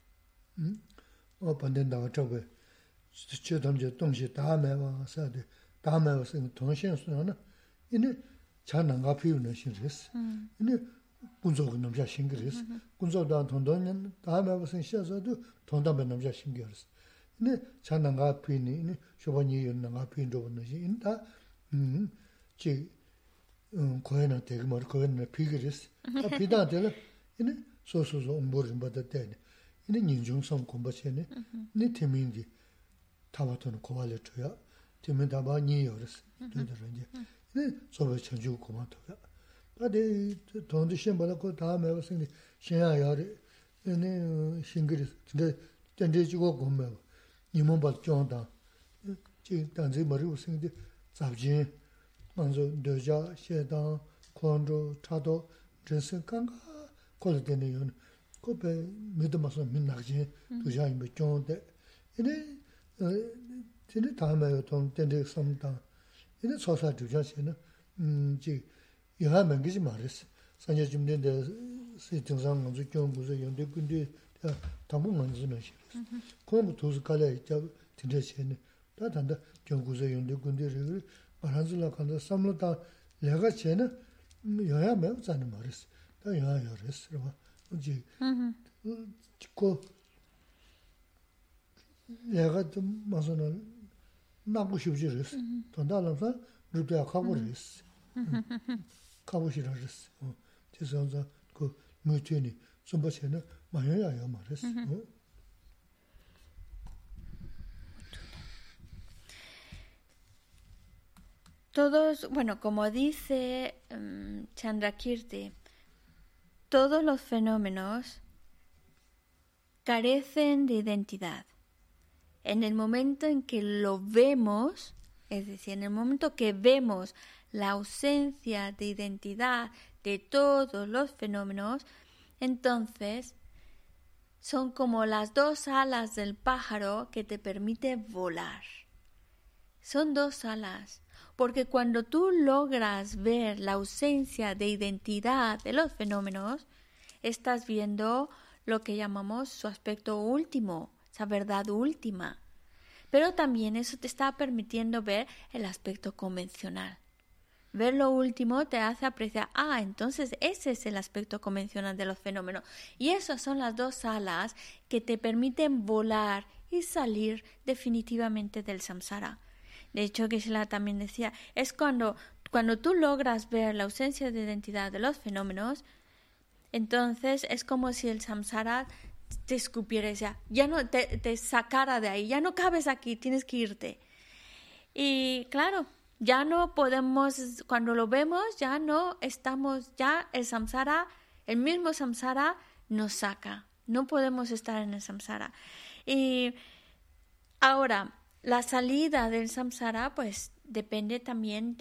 지 거에나 되게 말 거에나 피그리스 아 피다들 이네 소소소 온보를 받을 때네 이네 인중성 공부체네 네 temingi 타바토는 고발을 줘야 temin 다바니 요르스 되더라니 네 소베 천주 고마토야 바데 돈도 시험받고 다음에 무슨 신야야리 네 싱그리스 근데 전제주고 고마 이몸 받죠다 지 단지 머리 무슨 잡지 먼저 너자 시에다 콘로 차도 전선강가 콜데네요 코베 믿음어서 민나지 두자이 몇종데 이네 진짜 다음에 돈 된데 섬다 이네 소사 두자시는 지 여하면 그지 말았어 산재 좀 된데 시정상 먼저 경고서 연대 근데 담은 먼저는 시 그럼 도스 갈래 있자 진짜시네 다 단다 경고서 연대 근데를 말한줄라 간다 삼로다 내가 쟤는 여야 매우 자는 말했어 다 여야 열었어 뭐지 그 내가 좀 마서는 나고 싶지랬어 돈달라서 루트야 가버렸어 가보시라랬어 그래서 그 무트니 좀 버체는 마여야요 말했어 Todos, bueno, como dice Chandrakirti, todos los fenómenos carecen de identidad. En el momento en que lo vemos, es decir, en el momento que vemos la ausencia de identidad de todos los fenómenos, entonces son como las dos alas del pájaro que te permite volar. Son dos alas. Porque cuando tú logras ver la ausencia de identidad de los fenómenos, estás viendo lo que llamamos su aspecto último, esa verdad última. Pero también eso te está permitiendo ver el aspecto convencional. Ver lo último te hace apreciar, entonces ese es el aspecto convencional de los fenómenos. Y esas son las dos alas que te permiten volar y salir definitivamente del samsara. De hecho, Geshe-la también decía, es cuando tú logras ver la ausencia de identidad de los fenómenos, entonces es como si el samsara te escupiera y decía, ya no te sacara de ahí, ya no cabes aquí, tienes que irte. Y claro, ya no podemos, cuando lo vemos, ya no estamos, ya el samsara, el mismo samsara nos saca, no podemos estar en el samsara. Y ahora, la salida del samsara pues depende también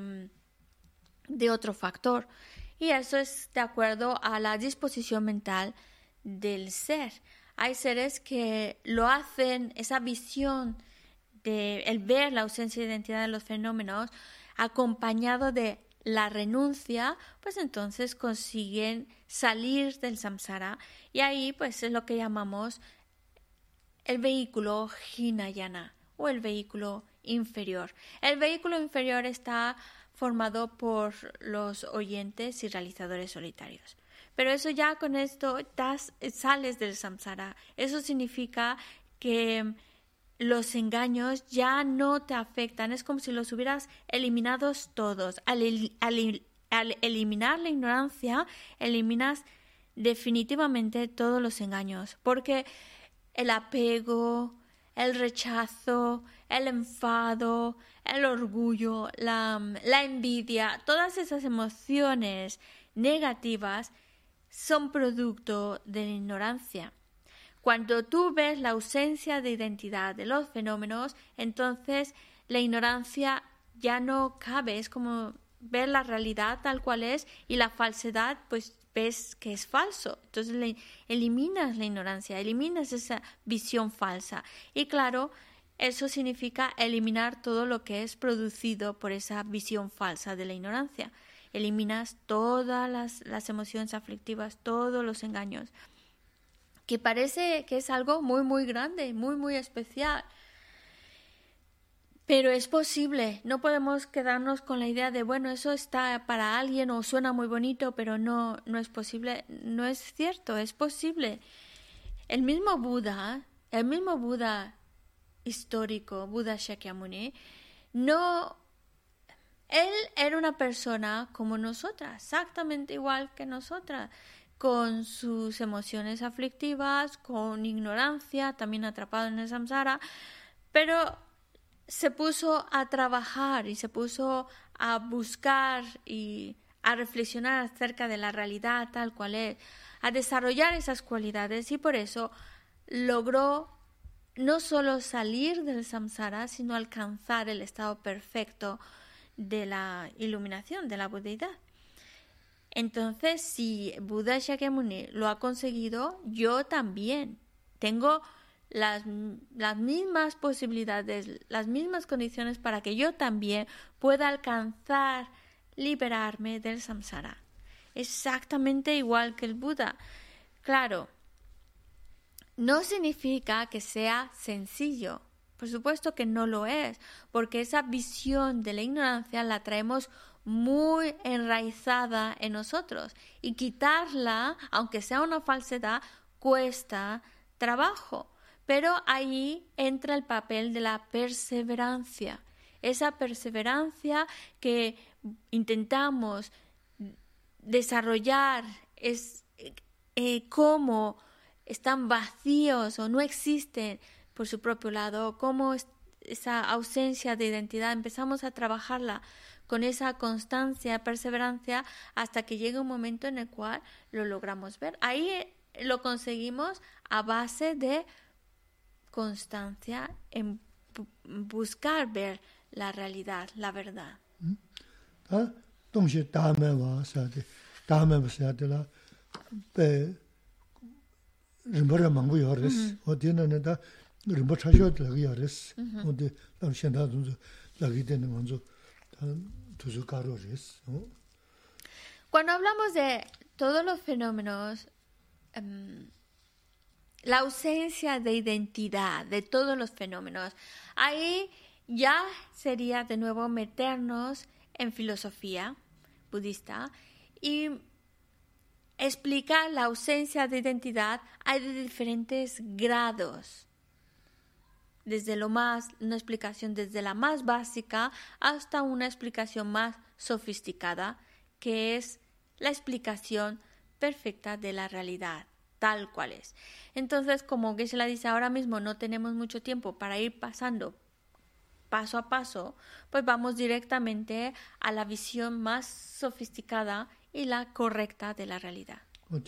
de otro factor y eso es de acuerdo a la disposición mental del ser. Hay seres que lo hacen, esa visión de el ver la ausencia de identidad de los fenómenos acompañado de la renuncia, pues entonces consiguen salir del samsara y ahí pues es lo que llamamos el vehículo Hinayana o el vehículo inferior. El vehículo inferior está formado por los oyentes y realizadores solitarios. Pero eso ya con esto sales del samsara. Eso significa que los engaños ya no te afectan. Es como si los hubieras eliminado todos. Al eliminar la ignorancia, eliminas definitivamente todos los engaños. Porque el apego, el rechazo, el enfado, el orgullo, la envidia, todas esas emociones negativas son producto de la ignorancia. Cuando tú ves la ausencia de identidad de los fenómenos, entonces la ignorancia ya no cabe, es como ver la realidad tal cual es y la falsedad pues ves que es falso. Entonces eliminas la ignorancia, eliminas esa visión falsa. Y claro, eso significa eliminar todo lo que es producido por esa visión falsa de la ignorancia. Eliminas todas las emociones aflictivas, todos los engaños. Que parece que es algo muy, muy grande, muy, muy especial. Pero es posible, no podemos quedarnos con la idea de, bueno, eso está para alguien o suena muy bonito, pero no es posible, no es cierto, es posible. El mismo Buda histórico, Buda Shakyamuni, no Él era una persona como nosotras, exactamente igual que nosotras, con sus emociones aflictivas, con ignorancia, también atrapado en el samsara, pero se puso a trabajar y se puso a buscar y a reflexionar acerca de la realidad tal cual es, a desarrollar esas cualidades y por eso logró no solo salir del samsara, sino alcanzar el estado perfecto de la iluminación, de la budeidad. Entonces, si Buda Shakyamuni lo ha conseguido, yo también tengo las mismas posibilidades, las mismas condiciones para que yo también pueda alcanzar liberarme del samsara. Exactamente igual que el Buda. Claro, no significa que sea sencillo. Por supuesto que no lo es, porque esa visión de la ignorancia la traemos muy enraizada en nosotros y quitarla, aunque sea una falsedad, cuesta trabajo. Pero ahí entra el papel de la perseverancia. Esa perseverancia que intentamos desarrollar es cómo están vacíos o no existen por su propio lado, cómo esa ausencia de identidad empezamos a trabajarla con esa constancia, perseverancia, hasta que llega un momento en el cual lo logramos ver. Ahí lo conseguimos a base de constancia en buscar ver la realidad, la verdad. Cuando hablamos de todos los fenómenos, la ausencia de identidad de todos los fenómenos, ahí ya sería de nuevo meternos en filosofía budista y explicar la ausencia de identidad. Hay de diferentes grados. Desde una explicación desde la más básica hasta una explicación más sofisticada, que es la explicación perfecta de la realidad, tal cual es. Entonces, como Geshe-la dice, ahora mismo no tenemos mucho tiempo para ir pasando paso a paso, pues vamos directamente a la visión más sofisticada y la correcta de la realidad.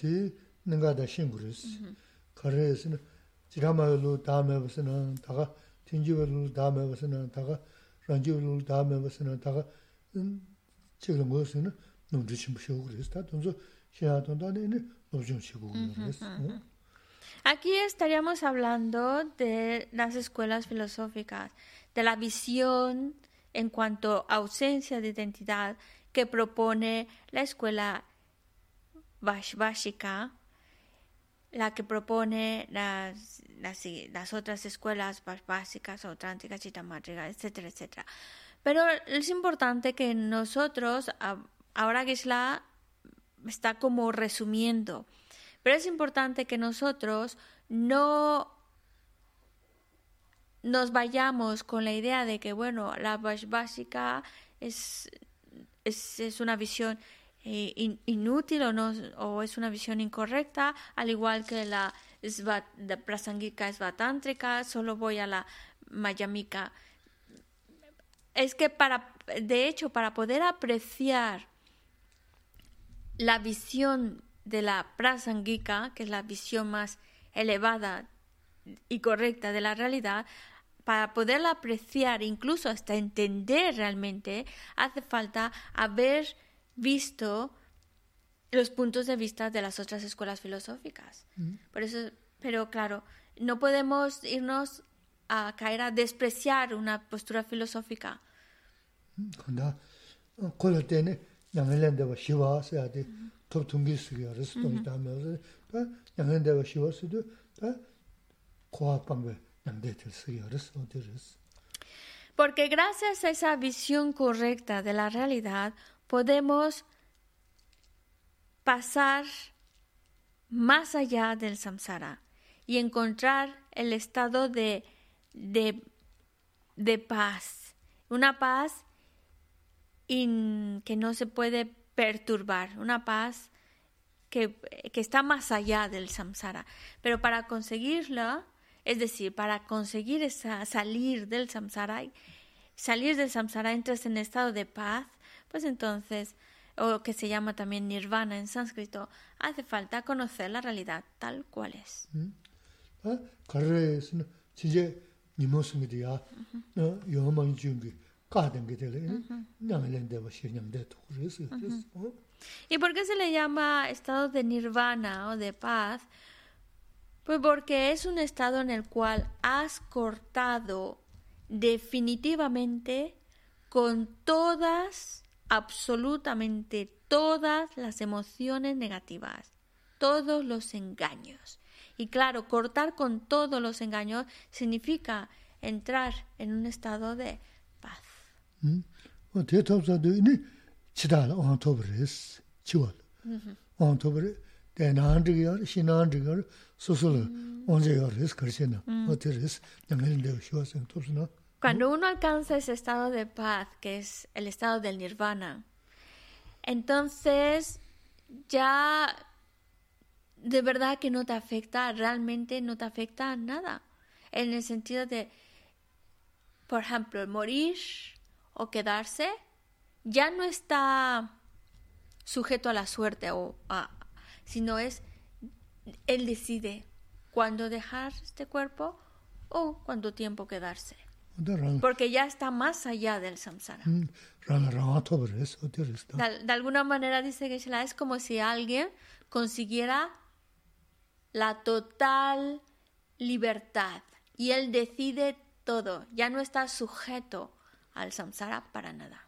Aquí estaríamos hablando de las escuelas filosóficas, de la visión en cuanto a ausencia de identidad que propone la escuela Vaishvashika, la que propone las otras escuelas básicas o tránticas, chitamátricas, etcétera, etcétera. Pero es importante que nosotros, ahora Geshe-la está como resumiendo, pero es importante que nosotros no nos vayamos con la idea de que, bueno, la Vaishvashika es una visión inútil o es una visión incorrecta, al igual que la prasangika svatántrica, solo voy a la mayamika. Es que de hecho, para poder apreciar la visión de la prasangika, que es la visión más elevada y correcta de la realidad, para poderla apreciar, incluso hasta entender realmente, hace falta haber visto los puntos de vista de las otras escuelas filosóficas. Por eso, pero claro, no podemos irnos a caer a despreciar una postura filosófica. Porque gracias a esa visión correcta de la realidad podemos pasar más allá del samsara y encontrar el estado de paz, una paz que no se puede perturbar, una paz que está más allá del samsara. Pero para conseguirla, es decir, para conseguir salir del samsara entras en estado de paz, pues entonces, o que se llama también nirvana en sánscrito, hace falta conocer la realidad tal cual es. ¿Y por qué se le llama estado de nirvana o de paz? Pues porque es un estado en el cual has cortado definitivamente con absolutamente todas las emociones negativas, todos los engaños. Y claro, cortar con todos los engaños significa entrar en un estado de paz. Cuando uno alcanza ese estado de paz, que es el estado del nirvana, entonces ya de verdad que no te afecta, realmente no te afecta a nada. En el sentido de, por ejemplo, morir o quedarse, ya no está sujeto a la suerte, sino él decide cuándo dejar este cuerpo o cuánto tiempo quedarse. Porque ya está más allá del samsara. De alguna manera, dice Geshe-la, es como si alguien consiguiera la total libertad y él decide todo, ya no está sujeto al samsara para nada.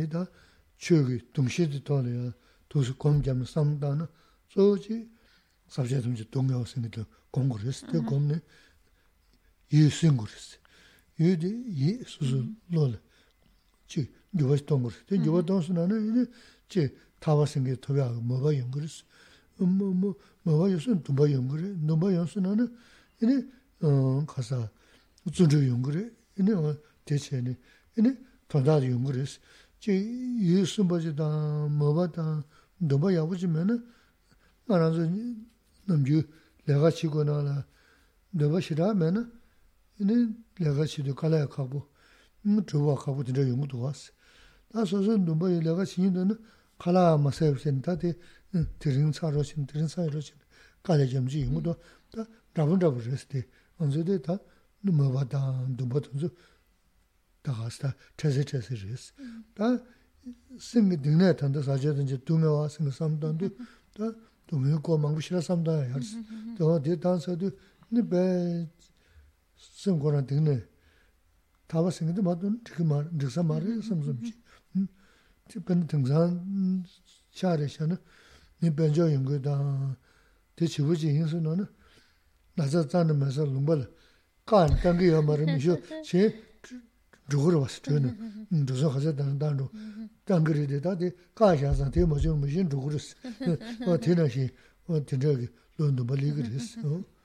유디 수수 놀 지 요스 동거 된 요바 동스나는 지 타와생게 토야 뭐가 연거스 뭐가 요슨 두 번 연거래 너뭐 연스나는 이네 가사 우준주 연거래 이네 대체네 이네 더다 연거스 지 예수 버지다 뭐바다 너뭐 야부지면은 알아서 남주 내가 치고나라 너가 싫어하면은 이네 내가 치도 갈아야 가고 저와 가고 진짜 용도 왔어. 나서서 누가 내가 신이는 갈아 마세브센다데 드링 사로신 갈아점지 용도 다 잡은잡으셨대. 언제도 다 누마바다 누바도 다 갔다 체세체세스. 다 생기 등내 탄다 사제든지 두메와 생 삼단도 다 두메고 망부 싫어 삼다 할수. 또 대단서도 네배 생고란 등내 다바 생기도 맞던 그 말, 득사 말을 섬섬지. 특별히 등산 샤레샤는 네 변조 연구다. 대치부지 인수는 나자 짜는면서 lumbar 간 당기어 말이면서 제 죽으러 왔어. 저는 저서 가서 단단로 당그리데 다데 가샤서 대모죠 무슨 죽으랬어. 대나시 대저기 론도 멀리 그랬어.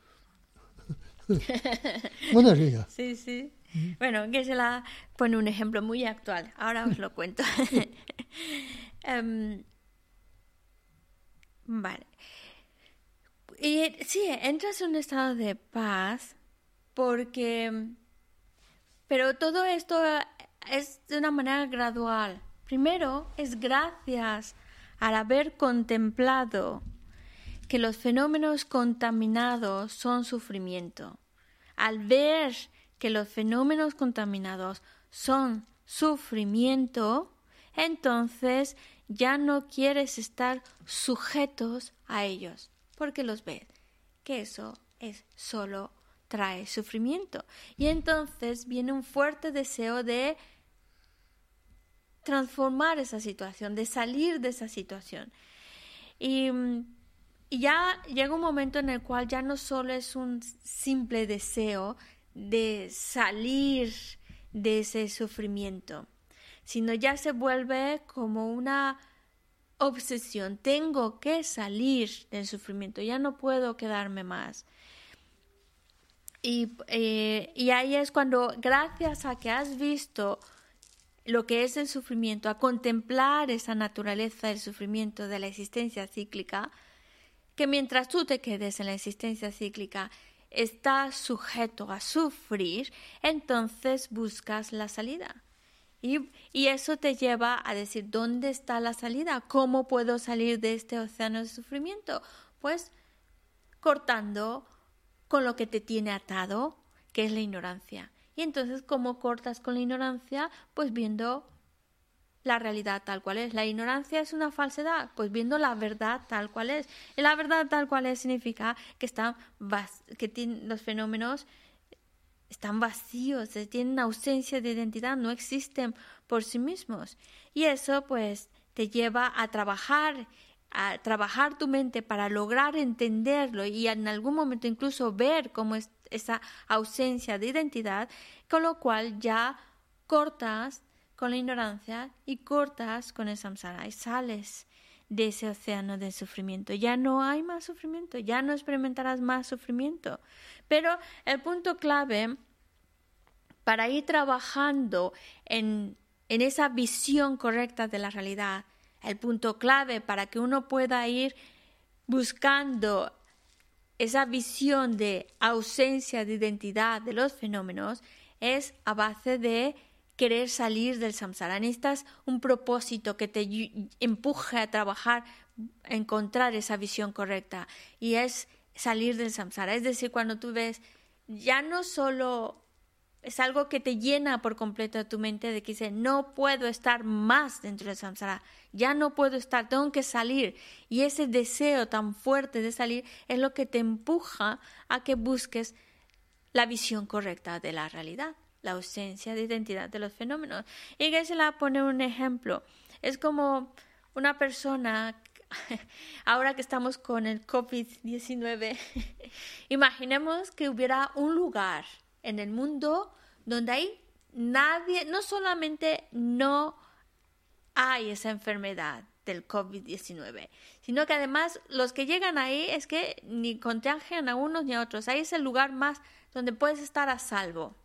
Sí, sí. Bueno, Geshe-la pone un ejemplo muy actual. Ahora os lo cuento. Vale. Y sí, entras en un estado de paz pero todo esto es de una manera gradual. Primero es gracias al haber contemplado que los fenómenos contaminados son sufrimiento. Al ver que los fenómenos contaminados son sufrimiento, entonces ya no quieres estar sujetos a ellos, porque los ves que eso solo trae sufrimiento. Y entonces viene un fuerte deseo de transformar esa situación, de salir de esa situación. Y ya llega un momento en el cual ya no solo es un simple deseo de salir de ese sufrimiento, sino ya se vuelve como una obsesión. Tengo que salir del sufrimiento, ya no puedo quedarme más. Y ahí es cuando, gracias a que has visto lo que es el sufrimiento, a contemplar esa naturaleza del sufrimiento de la existencia cíclica, que mientras tú te quedes en la existencia cíclica, estás sujeto a sufrir, entonces buscas la salida. Y eso te lleva a decir, ¿dónde está la salida? ¿Cómo puedo salir de este océano de sufrimiento? Pues cortando con lo que te tiene atado, que es la ignorancia. Y entonces, ¿cómo cortas con la ignorancia? Pues viendo la realidad tal cual es. La ignorancia es una falsedad, pues viendo la verdad tal cual es. Y la verdad tal cual es significa que los fenómenos están vacíos, tienen ausencia de identidad, no existen por sí mismos. Y eso pues te lleva a trabajar tu mente para lograr entenderlo y en algún momento incluso ver cómo es esa ausencia de identidad, con lo cual ya cortas con la ignorancia y cortas con el samsara y sales de ese océano de sufrimiento. Ya no hay más sufrimiento, ya no experimentarás más sufrimiento. Pero el punto clave para ir trabajando en esa visión correcta de la realidad, el punto clave para que uno pueda ir buscando esa visión de ausencia de identidad de los fenómenos es a base de querer salir del samsara. Necesitas un propósito que te empuje a trabajar, a encontrar esa visión correcta. Y es salir del samsara. Es decir, cuando tú ves, ya no solo es algo que te llena por completo tu mente de que dice, no puedo estar más dentro del samsara. Ya no puedo estar, tengo que salir. Y ese deseo tan fuerte de salir es lo que te empuja a que busques la visión correcta de la realidad, la ausencia de identidad de los fenómenos. Y Geshe-la pone un ejemplo. Es como una persona, ahora que estamos con el COVID-19, imaginemos que hubiera un lugar en el mundo donde hay nadie, no solamente no hay esa enfermedad del COVID-19, sino que además los que llegan ahí es que ni contagian a unos ni a otros. Ahí es el lugar más donde puedes estar a salvo.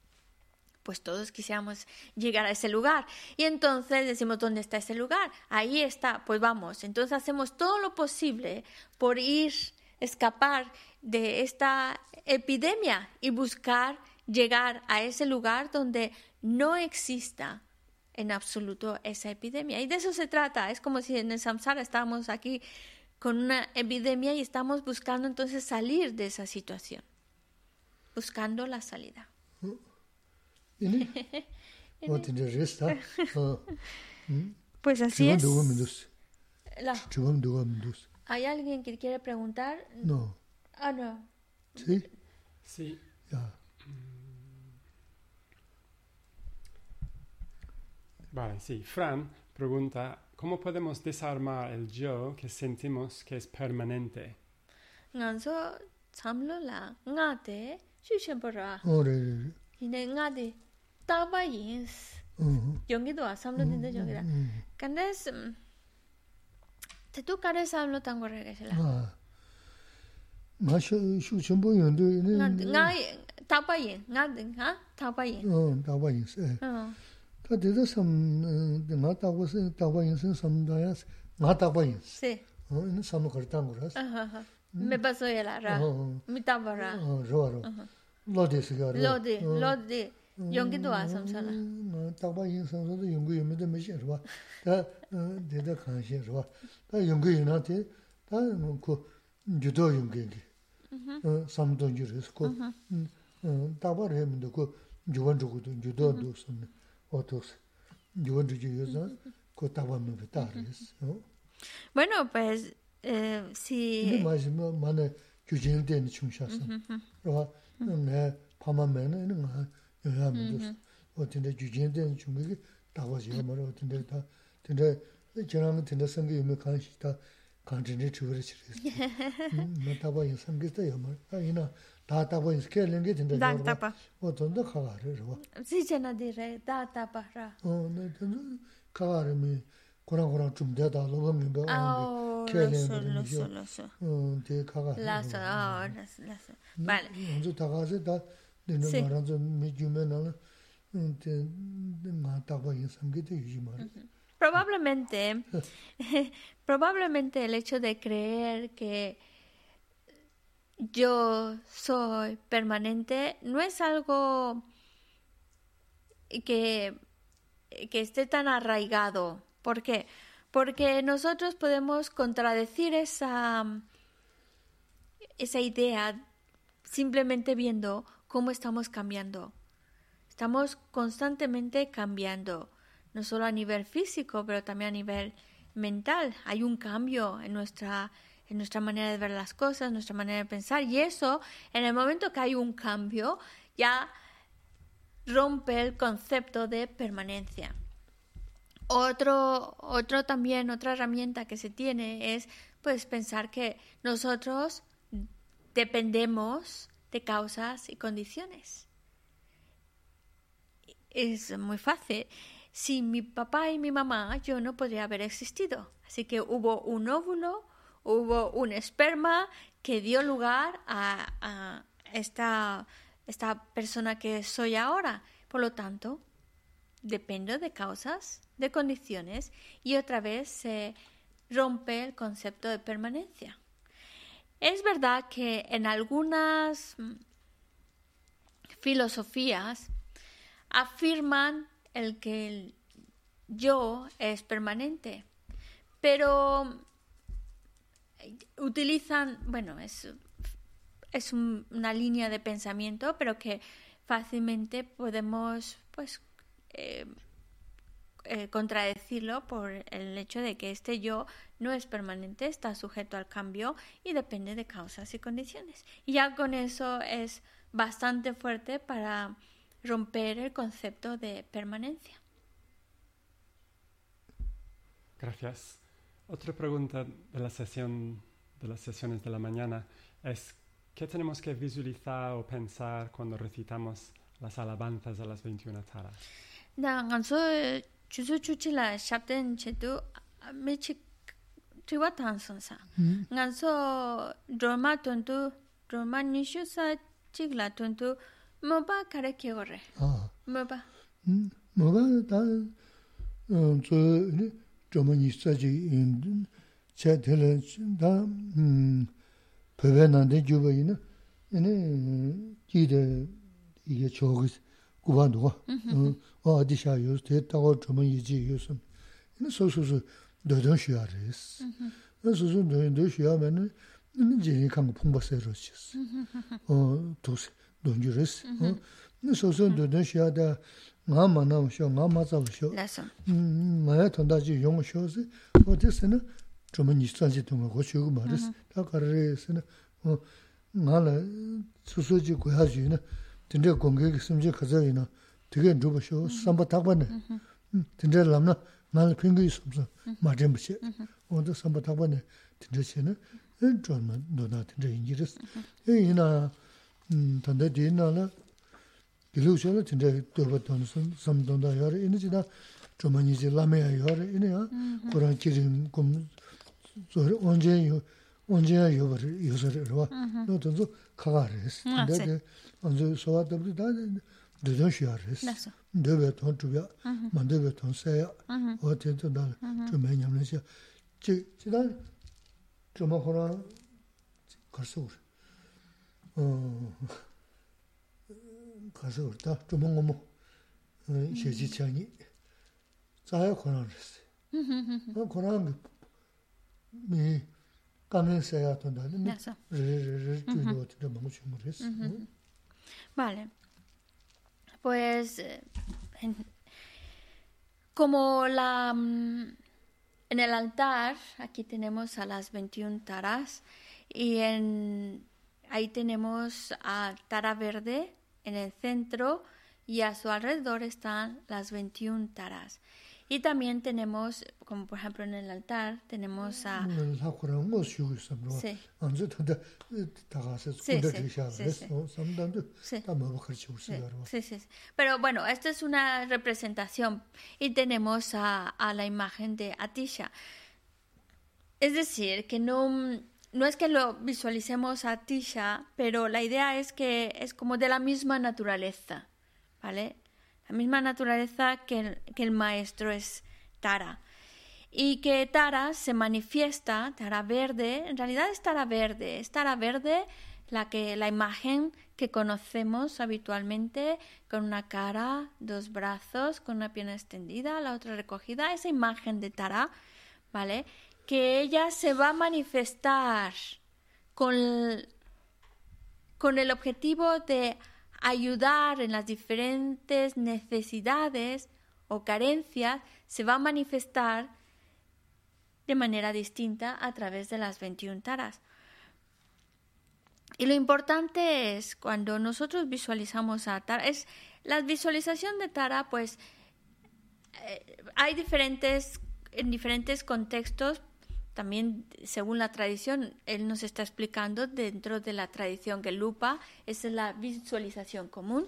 Pues todos quisiéramos llegar a ese lugar. Y entonces decimos, ¿dónde está ese lugar? Ahí está, pues vamos. Entonces hacemos todo lo posible por escapar de esta epidemia y buscar llegar a ese lugar donde no exista en absoluto esa epidemia. Y de eso se trata. Es como si en el samsara estábamos aquí con una epidemia y estamos buscando entonces salir de esa situación. Buscando la salida. Pues así es. ¿Hay alguien que quiere preguntar? No. Ah, no. ¿Sí? Sí. Ya. Vale, sí. Fran pregunta, ¿cómo podemos desarmar el yo que sentimos que es permanente? Nganso samlo la ngate shushenpora. Ore. Ine ngate tabayins. Yongido samlo dinde yongida. Kandes te tu kare samlo tango regesela. Ah. Ma shu chenpo yondu nga tabayin, ngade ha tabayin. Tabayin se. Ta de sam nga tabayin se samdaya nga tabayin. Sí. Ne sam kartangoras. Me pasó ya ra. Mi tabara. Ro. Lodi sigara. Lodi. Yongido samsala. Tabayin se so de yongu yeme de me sherwa. Ta de kan sherwa. Ta yongu yena te ta ko judo yongu. Samdon juris ko tabar hemdo ko juwan judo do sam otos. Juwan judo ko tabar me betares. Bueno, pues si más mane jujin den chungshasa. Ro ne pama mene nga ya me o tinde jujin den chungi tawa je maro tinde ta tinde jerang tinde sangi me kanshi ta kanjine churi chiris. Me tawa yin sangi ta yamar. Ina ta tawa yin skelenge tinde da tapa. O tonda khagare ro. Si jena dire da tapa ra. Ne tinde khagare me koran chumde da lo me ba. Lazo. Vale. Entonces tagase da de no maranzo me jume na Probablemente, probablemente el hecho de creer que yo soy permanente no es algo que esté tan arraigado. ¿Por qué? Porque nosotros podemos contradecir esa idea simplemente viendo cómo estamos cambiando. Estamos constantemente cambiando, no solo a nivel físico, pero también a nivel mental. Hay un cambio en nuestra manera de ver las cosas, nuestra manera de pensar. Y eso, en el momento que hay un cambio, ya rompe el concepto de permanencia. Otra herramienta que se tiene es pues pensar que nosotros dependemos de causas y condiciones. Es muy fácil. Sin mi papá y mi mamá, yo no podría haber existido. Así que hubo un óvulo, hubo un esperma que dio lugar a esta persona que soy ahora. Por lo tanto, dependo de causas, de condiciones, y otra vez se rompe el concepto de permanencia. Es verdad que en algunas filosofías afirman el que el yo es permanente, pero utilizan, es una línea de pensamiento, pero que fácilmente podemos contradecirlo por el hecho de que este yo no es permanente, está sujeto al cambio y depende de causas y condiciones. Y ya con eso es bastante fuerte para romper el concepto de permanencia. Gracias. Otra pregunta de las sesiones de la mañana es ¿qué tenemos que visualizar o pensar cuando recitamos las alabanzas a las 21 taras? Chusu chuchila shabden chetu mechi triwa tansonsa. Nganso drama tuntu drama nishu sa chigla tuntu moba kare kyore. Moba. Moba ta so drama nishu ji chatela da pevenande juba ina ene kide 이게 저기 구반도가 어디샤요 대다고 좀 이지 요즘 이 소소소 너도 쉬어야res 소소 너도 쉬어면은 이제 간 풍부세로시스 도스 돈주레스 이 소소 너도 쉬어다 나만나 쉬어 나마자셔 마야 돈다지 용쇼스 어디서는 좀 이스탄지 동거 고치고 말스 다 가르레스는 나라 소소지 고야지는 진짜 공격이 심지 가자이나 되게 누버셔 삼바 탁반네 진짜 남나 날 핑거이 없어 맞은 것이 어디 삼바 탁반네 진짜 쟤는 좀 너나 진짜 인지를 이나 단대 뒤나라 길우셔는 진짜 돌봤던 삼동다 여러 이니지다 좀 이제 라메야 여러 이네야 그런 기름 좀 언제야 요소를 와 너도 가가레스 근데 언제 소화도 다 되셔야레스 되게 돈 주야 만들게 돈 써야 어때도 나좀 매년에서 지난 좀 하나 가서 가서 다 좀 먹고 시지창이 자야 권한레스 권한 미 Vale. Pues como en el altar, aquí tenemos a las 21 taras y ahí tenemos a Tara Verde en el centro y a su alrededor están las 21 taras. Y también tenemos, como por ejemplo en el altar, tenemos a... Sí. Pero bueno, esto es una representación y tenemos a la imagen de Atisha. Es decir, que no es que lo visualicemos a Atisha, pero la idea es que es como de la misma naturaleza, ¿vale? la misma naturaleza que el maestro es Tara. Y que Tara se manifiesta, Tara verde, en realidad es Tara verde la imagen que conocemos habitualmente, con una cara, dos brazos, con una pierna extendida, la otra recogida, esa imagen de Tara, ¿vale? Que ella se va a manifestar con el objetivo de ayudar en las diferentes necesidades o carencias, se va a manifestar de manera distinta a través de las 21 taras. Y lo importante es, cuando nosotros visualizamos a Tara, la visualización de Tara, pues hay en diferentes contextos, también según la tradición, él nos está explicando dentro de la tradición Gelugpa, esa es la visualización común.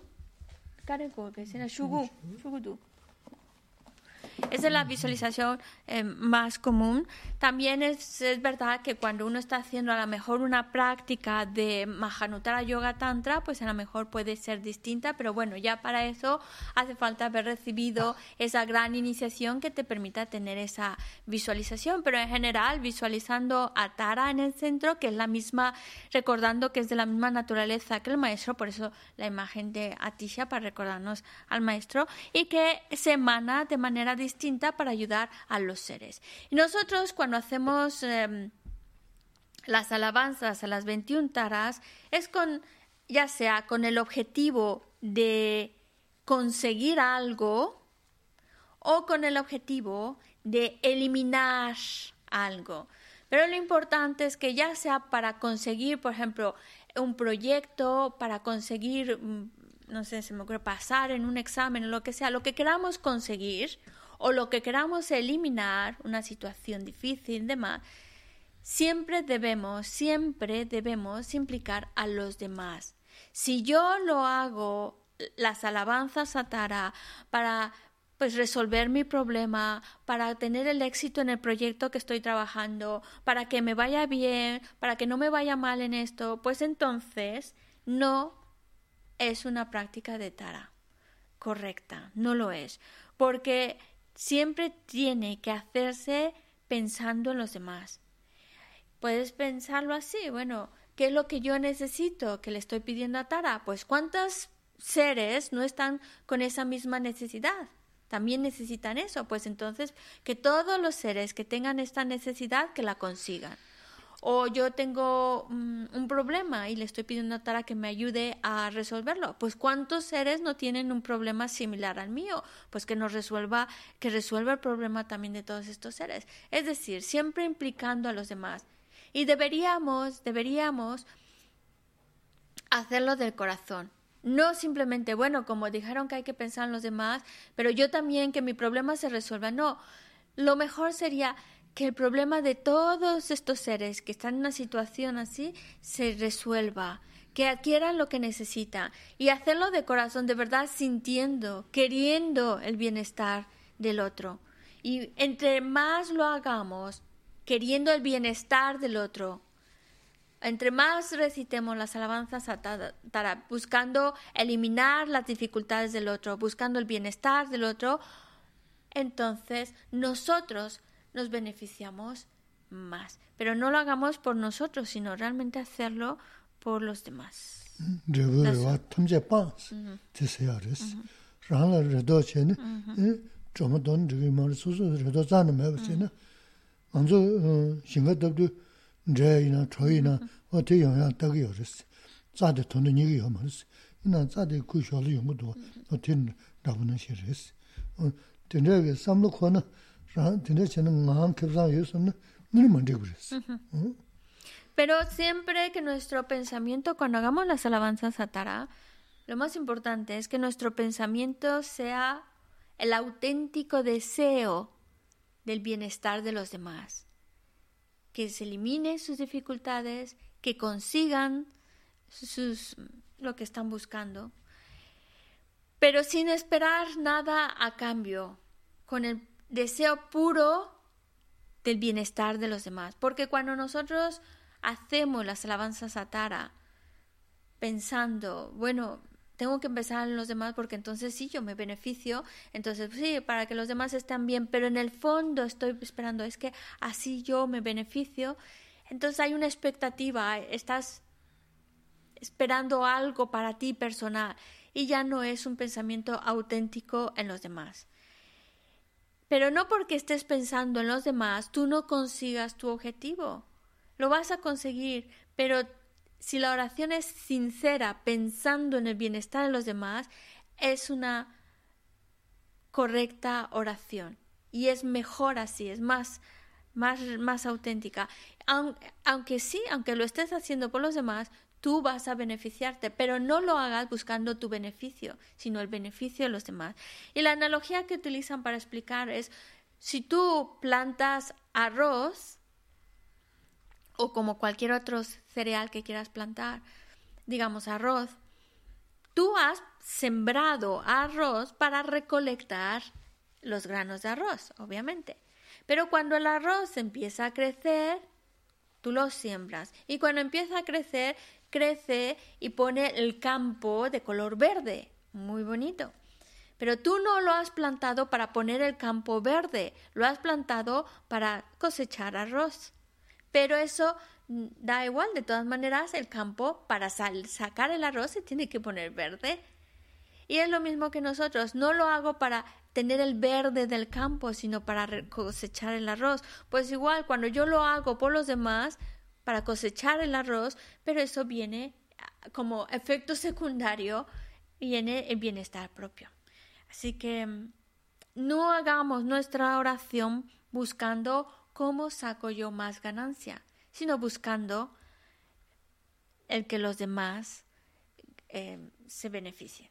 Esa es la visualización más común. También es verdad que cuando uno está haciendo a lo mejor una práctica de Mahanuttara Yoga Tantra, pues a lo mejor puede ser distinta, pero bueno, ya para eso hace falta haber recibido esa gran iniciación que te permita tener esa visualización. Pero en general, visualizando a Tara en el centro, que es la misma, recordando que es de la misma naturaleza que el maestro, por eso la imagen de Atisha, para recordarnos al maestro, y que se emana de manera distinta para ayudar a los seres. Y nosotros cuando hacemos las alabanzas a las 21 taras es ya sea con el objetivo de conseguir algo o con el objetivo de eliminar algo. Pero lo importante es que ya sea para conseguir, por ejemplo, un proyecto, para conseguir, no sé, se me ocurre pasar en un examen o lo que sea, lo que queramos conseguir o lo que queramos eliminar, una situación difícil, demás, siempre debemos implicar a los demás. Si yo lo hago, las alabanzas a Tara, para resolver mi problema, para tener el éxito en el proyecto que estoy trabajando, para que me vaya bien, para que no me vaya mal en esto, pues entonces no es una práctica de Tara correcta, no lo es, porque siempre tiene que hacerse pensando en los demás. Puedes pensarlo así, bueno, ¿qué es lo que yo necesito que le estoy pidiendo a Tara? Pues ¿cuántos seres no están con esa misma necesidad? También necesitan eso, pues entonces que todos los seres que tengan esta necesidad que la consigan. O yo tengo un problema y le estoy pidiendo a Tara que me ayude a resolverlo. Pues ¿cuántos seres no tienen un problema similar al mío? Pues que resuelva el problema también de todos estos seres. Es decir, siempre implicando a los demás. Y deberíamos hacerlo del corazón. No simplemente, bueno, como dijeron que hay que pensar en los demás, pero yo también que mi problema se resuelva. No, lo mejor sería que el problema de todos estos seres que están en una situación así se resuelva, que adquieran lo que necesitan y hacerlo de corazón, de verdad sintiendo, queriendo el bienestar del otro. Y entre más lo hagamos, queriendo el bienestar del otro, entre más recitemos las alabanzas a Tara, buscando eliminar las dificultades del otro, buscando el bienestar del otro, entonces nosotros nos beneficiamos más. Pero no lo hagamos por nosotros, sino realmente hacerlo por los demás. Pero siempre que nuestro pensamiento, cuando hagamos las alabanzas a Tara, lo más importante es que nuestro pensamiento sea el auténtico deseo del bienestar de los demás. Que se elimine sus dificultades, que consigan lo que están buscando, pero sin esperar nada a cambio, con el deseo puro del bienestar de los demás. Porque cuando nosotros hacemos las alabanzas a Tara pensando, bueno, tengo que empezar en los demás porque entonces sí, yo me beneficio, entonces sí, para que los demás estén bien, pero en el fondo estoy esperando, es que así yo me beneficio, entonces hay una expectativa, estás esperando algo para ti personal y ya no es un pensamiento auténtico en los demás. Pero no porque estés pensando en los demás, tú no consigas tu objetivo. Lo vas a conseguir, pero si la oración es sincera, pensando en el bienestar de los demás, es una correcta oración. Y es mejor así, es más auténtica. Aunque lo estés haciendo por los demás, tú vas a beneficiarte, pero no lo hagas buscando tu beneficio, sino el beneficio de los demás. Y la analogía que utilizan para explicar es, si tú plantas arroz, o como cualquier otro cereal que quieras plantar, digamos arroz, tú has sembrado arroz para recolectar los granos de arroz, obviamente. Pero cuando el arroz empieza a crecer, tú lo siembras. Y cuando empieza a crecer, crece y pone el campo de color verde, muy bonito. Pero tú no lo has plantado para poner el campo verde, lo has plantado para cosechar arroz. Pero eso da igual, de todas maneras el campo para sacar el arroz se tiene que poner verde. Y es lo mismo que nosotros, no lo hago para tener el verde del campo, sino para cosechar el arroz. Pues igual, cuando yo lo hago por los demás, para cosechar el arroz, pero eso viene como efecto secundario, viene el bienestar propio. Así que no hagamos nuestra oración buscando cómo saco yo más ganancia, sino buscando el que los demás se beneficien.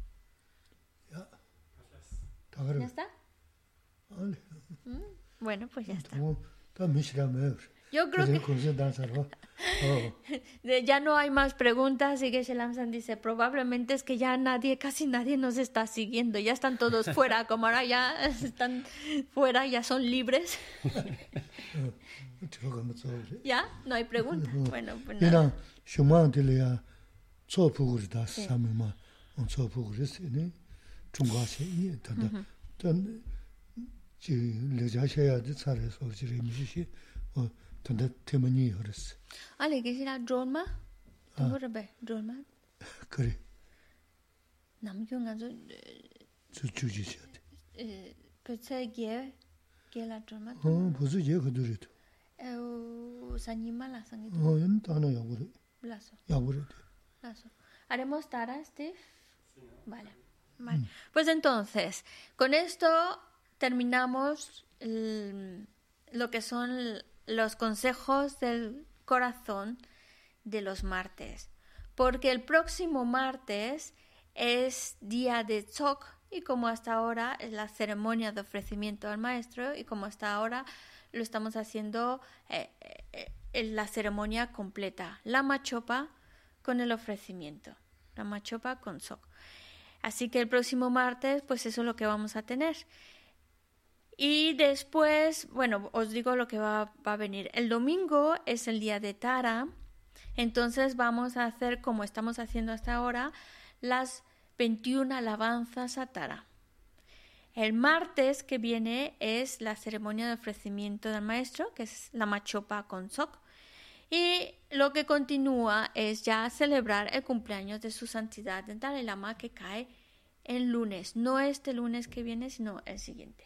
¿Ya está? Bueno, pues ya está. Yo creo que ya no hay más preguntas y Geshe Lamsan dice, probablemente es que ya casi nadie nos está siguiendo, ya están todos fuera, como ahora ya están fuera, ya son libres. ¿Ya? No hay preguntas. Bueno, pues nada. Ale 계시나 drone 도르베 drone 그래 남경아서 주주지셔 그세게 게라 drone 무슨 얘기 그들이도 사니마라 상이도 하나 야구래 라서 라서 haremos tara Steve vale. Pues entonces con esto terminamos lo que son los consejos del corazón de los martes, porque el próximo martes es día de Tsok y como hasta ahora es la ceremonia de ofrecimiento al maestro y como hasta ahora lo estamos haciendo en la ceremonia completa, la machopa con el ofrecimiento, la machopa con Tsok. Así que el próximo martes pues eso es lo que vamos a tener. Y después, bueno, os digo lo que va a venir. El domingo es el día de Tara, entonces vamos a hacer, como estamos haciendo hasta ahora, las 21 alabanzas a Tara. El martes que viene es la ceremonia de ofrecimiento del maestro, que es la machopa con Tsok. Y lo que continúa es ya celebrar el cumpleaños de su santidad del Dalai Lama, que cae el lunes. No este lunes que viene, sino el siguiente.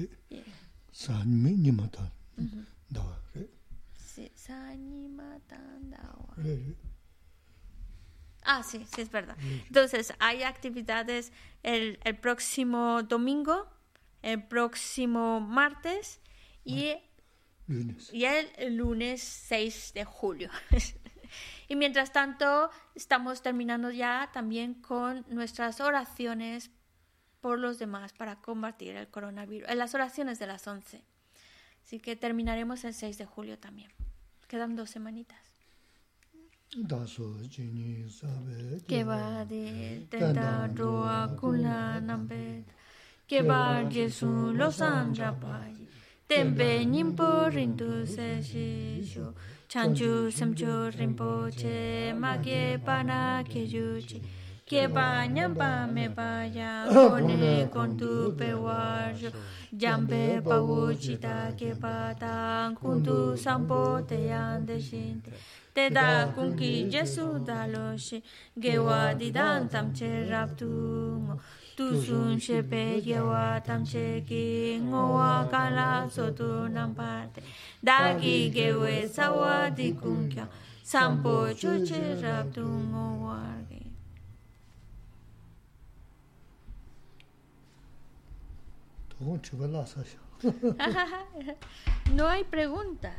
Ah, sí, es verdad. Entonces, hay actividades el próximo domingo, el próximo martes y el lunes 6 de julio. Y mientras tanto, estamos terminando ya también con nuestras oraciones por los demás para combatir el coronavirus, en las oraciones de las 11. Así que terminaremos el 6 de julio también. Quedan 2 semanitas. Que va de tenta roa kula nambe, que va Jesús los andrapai, tembe nimpo rindu se shisho, chanchu semcho rinpoche, magye pana que yuchi. que bañan pa me vaya con tu peguayo, jambe pauchita que patan con tu sampo te ande shinte. Te da con ki Jesu daloshi, gewa di dan tam che raptungo. Tu sun shepe gewa tam che ki ngowa kala so tu nampate. Dagi gewe sawa di kunkya, sampo choche raptungo wargi. No hay preguntas.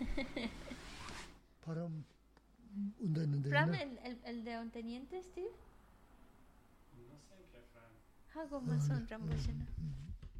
Fran, el de un teniente, Steve. No sé qué, Fran. Hago más un rambuchano.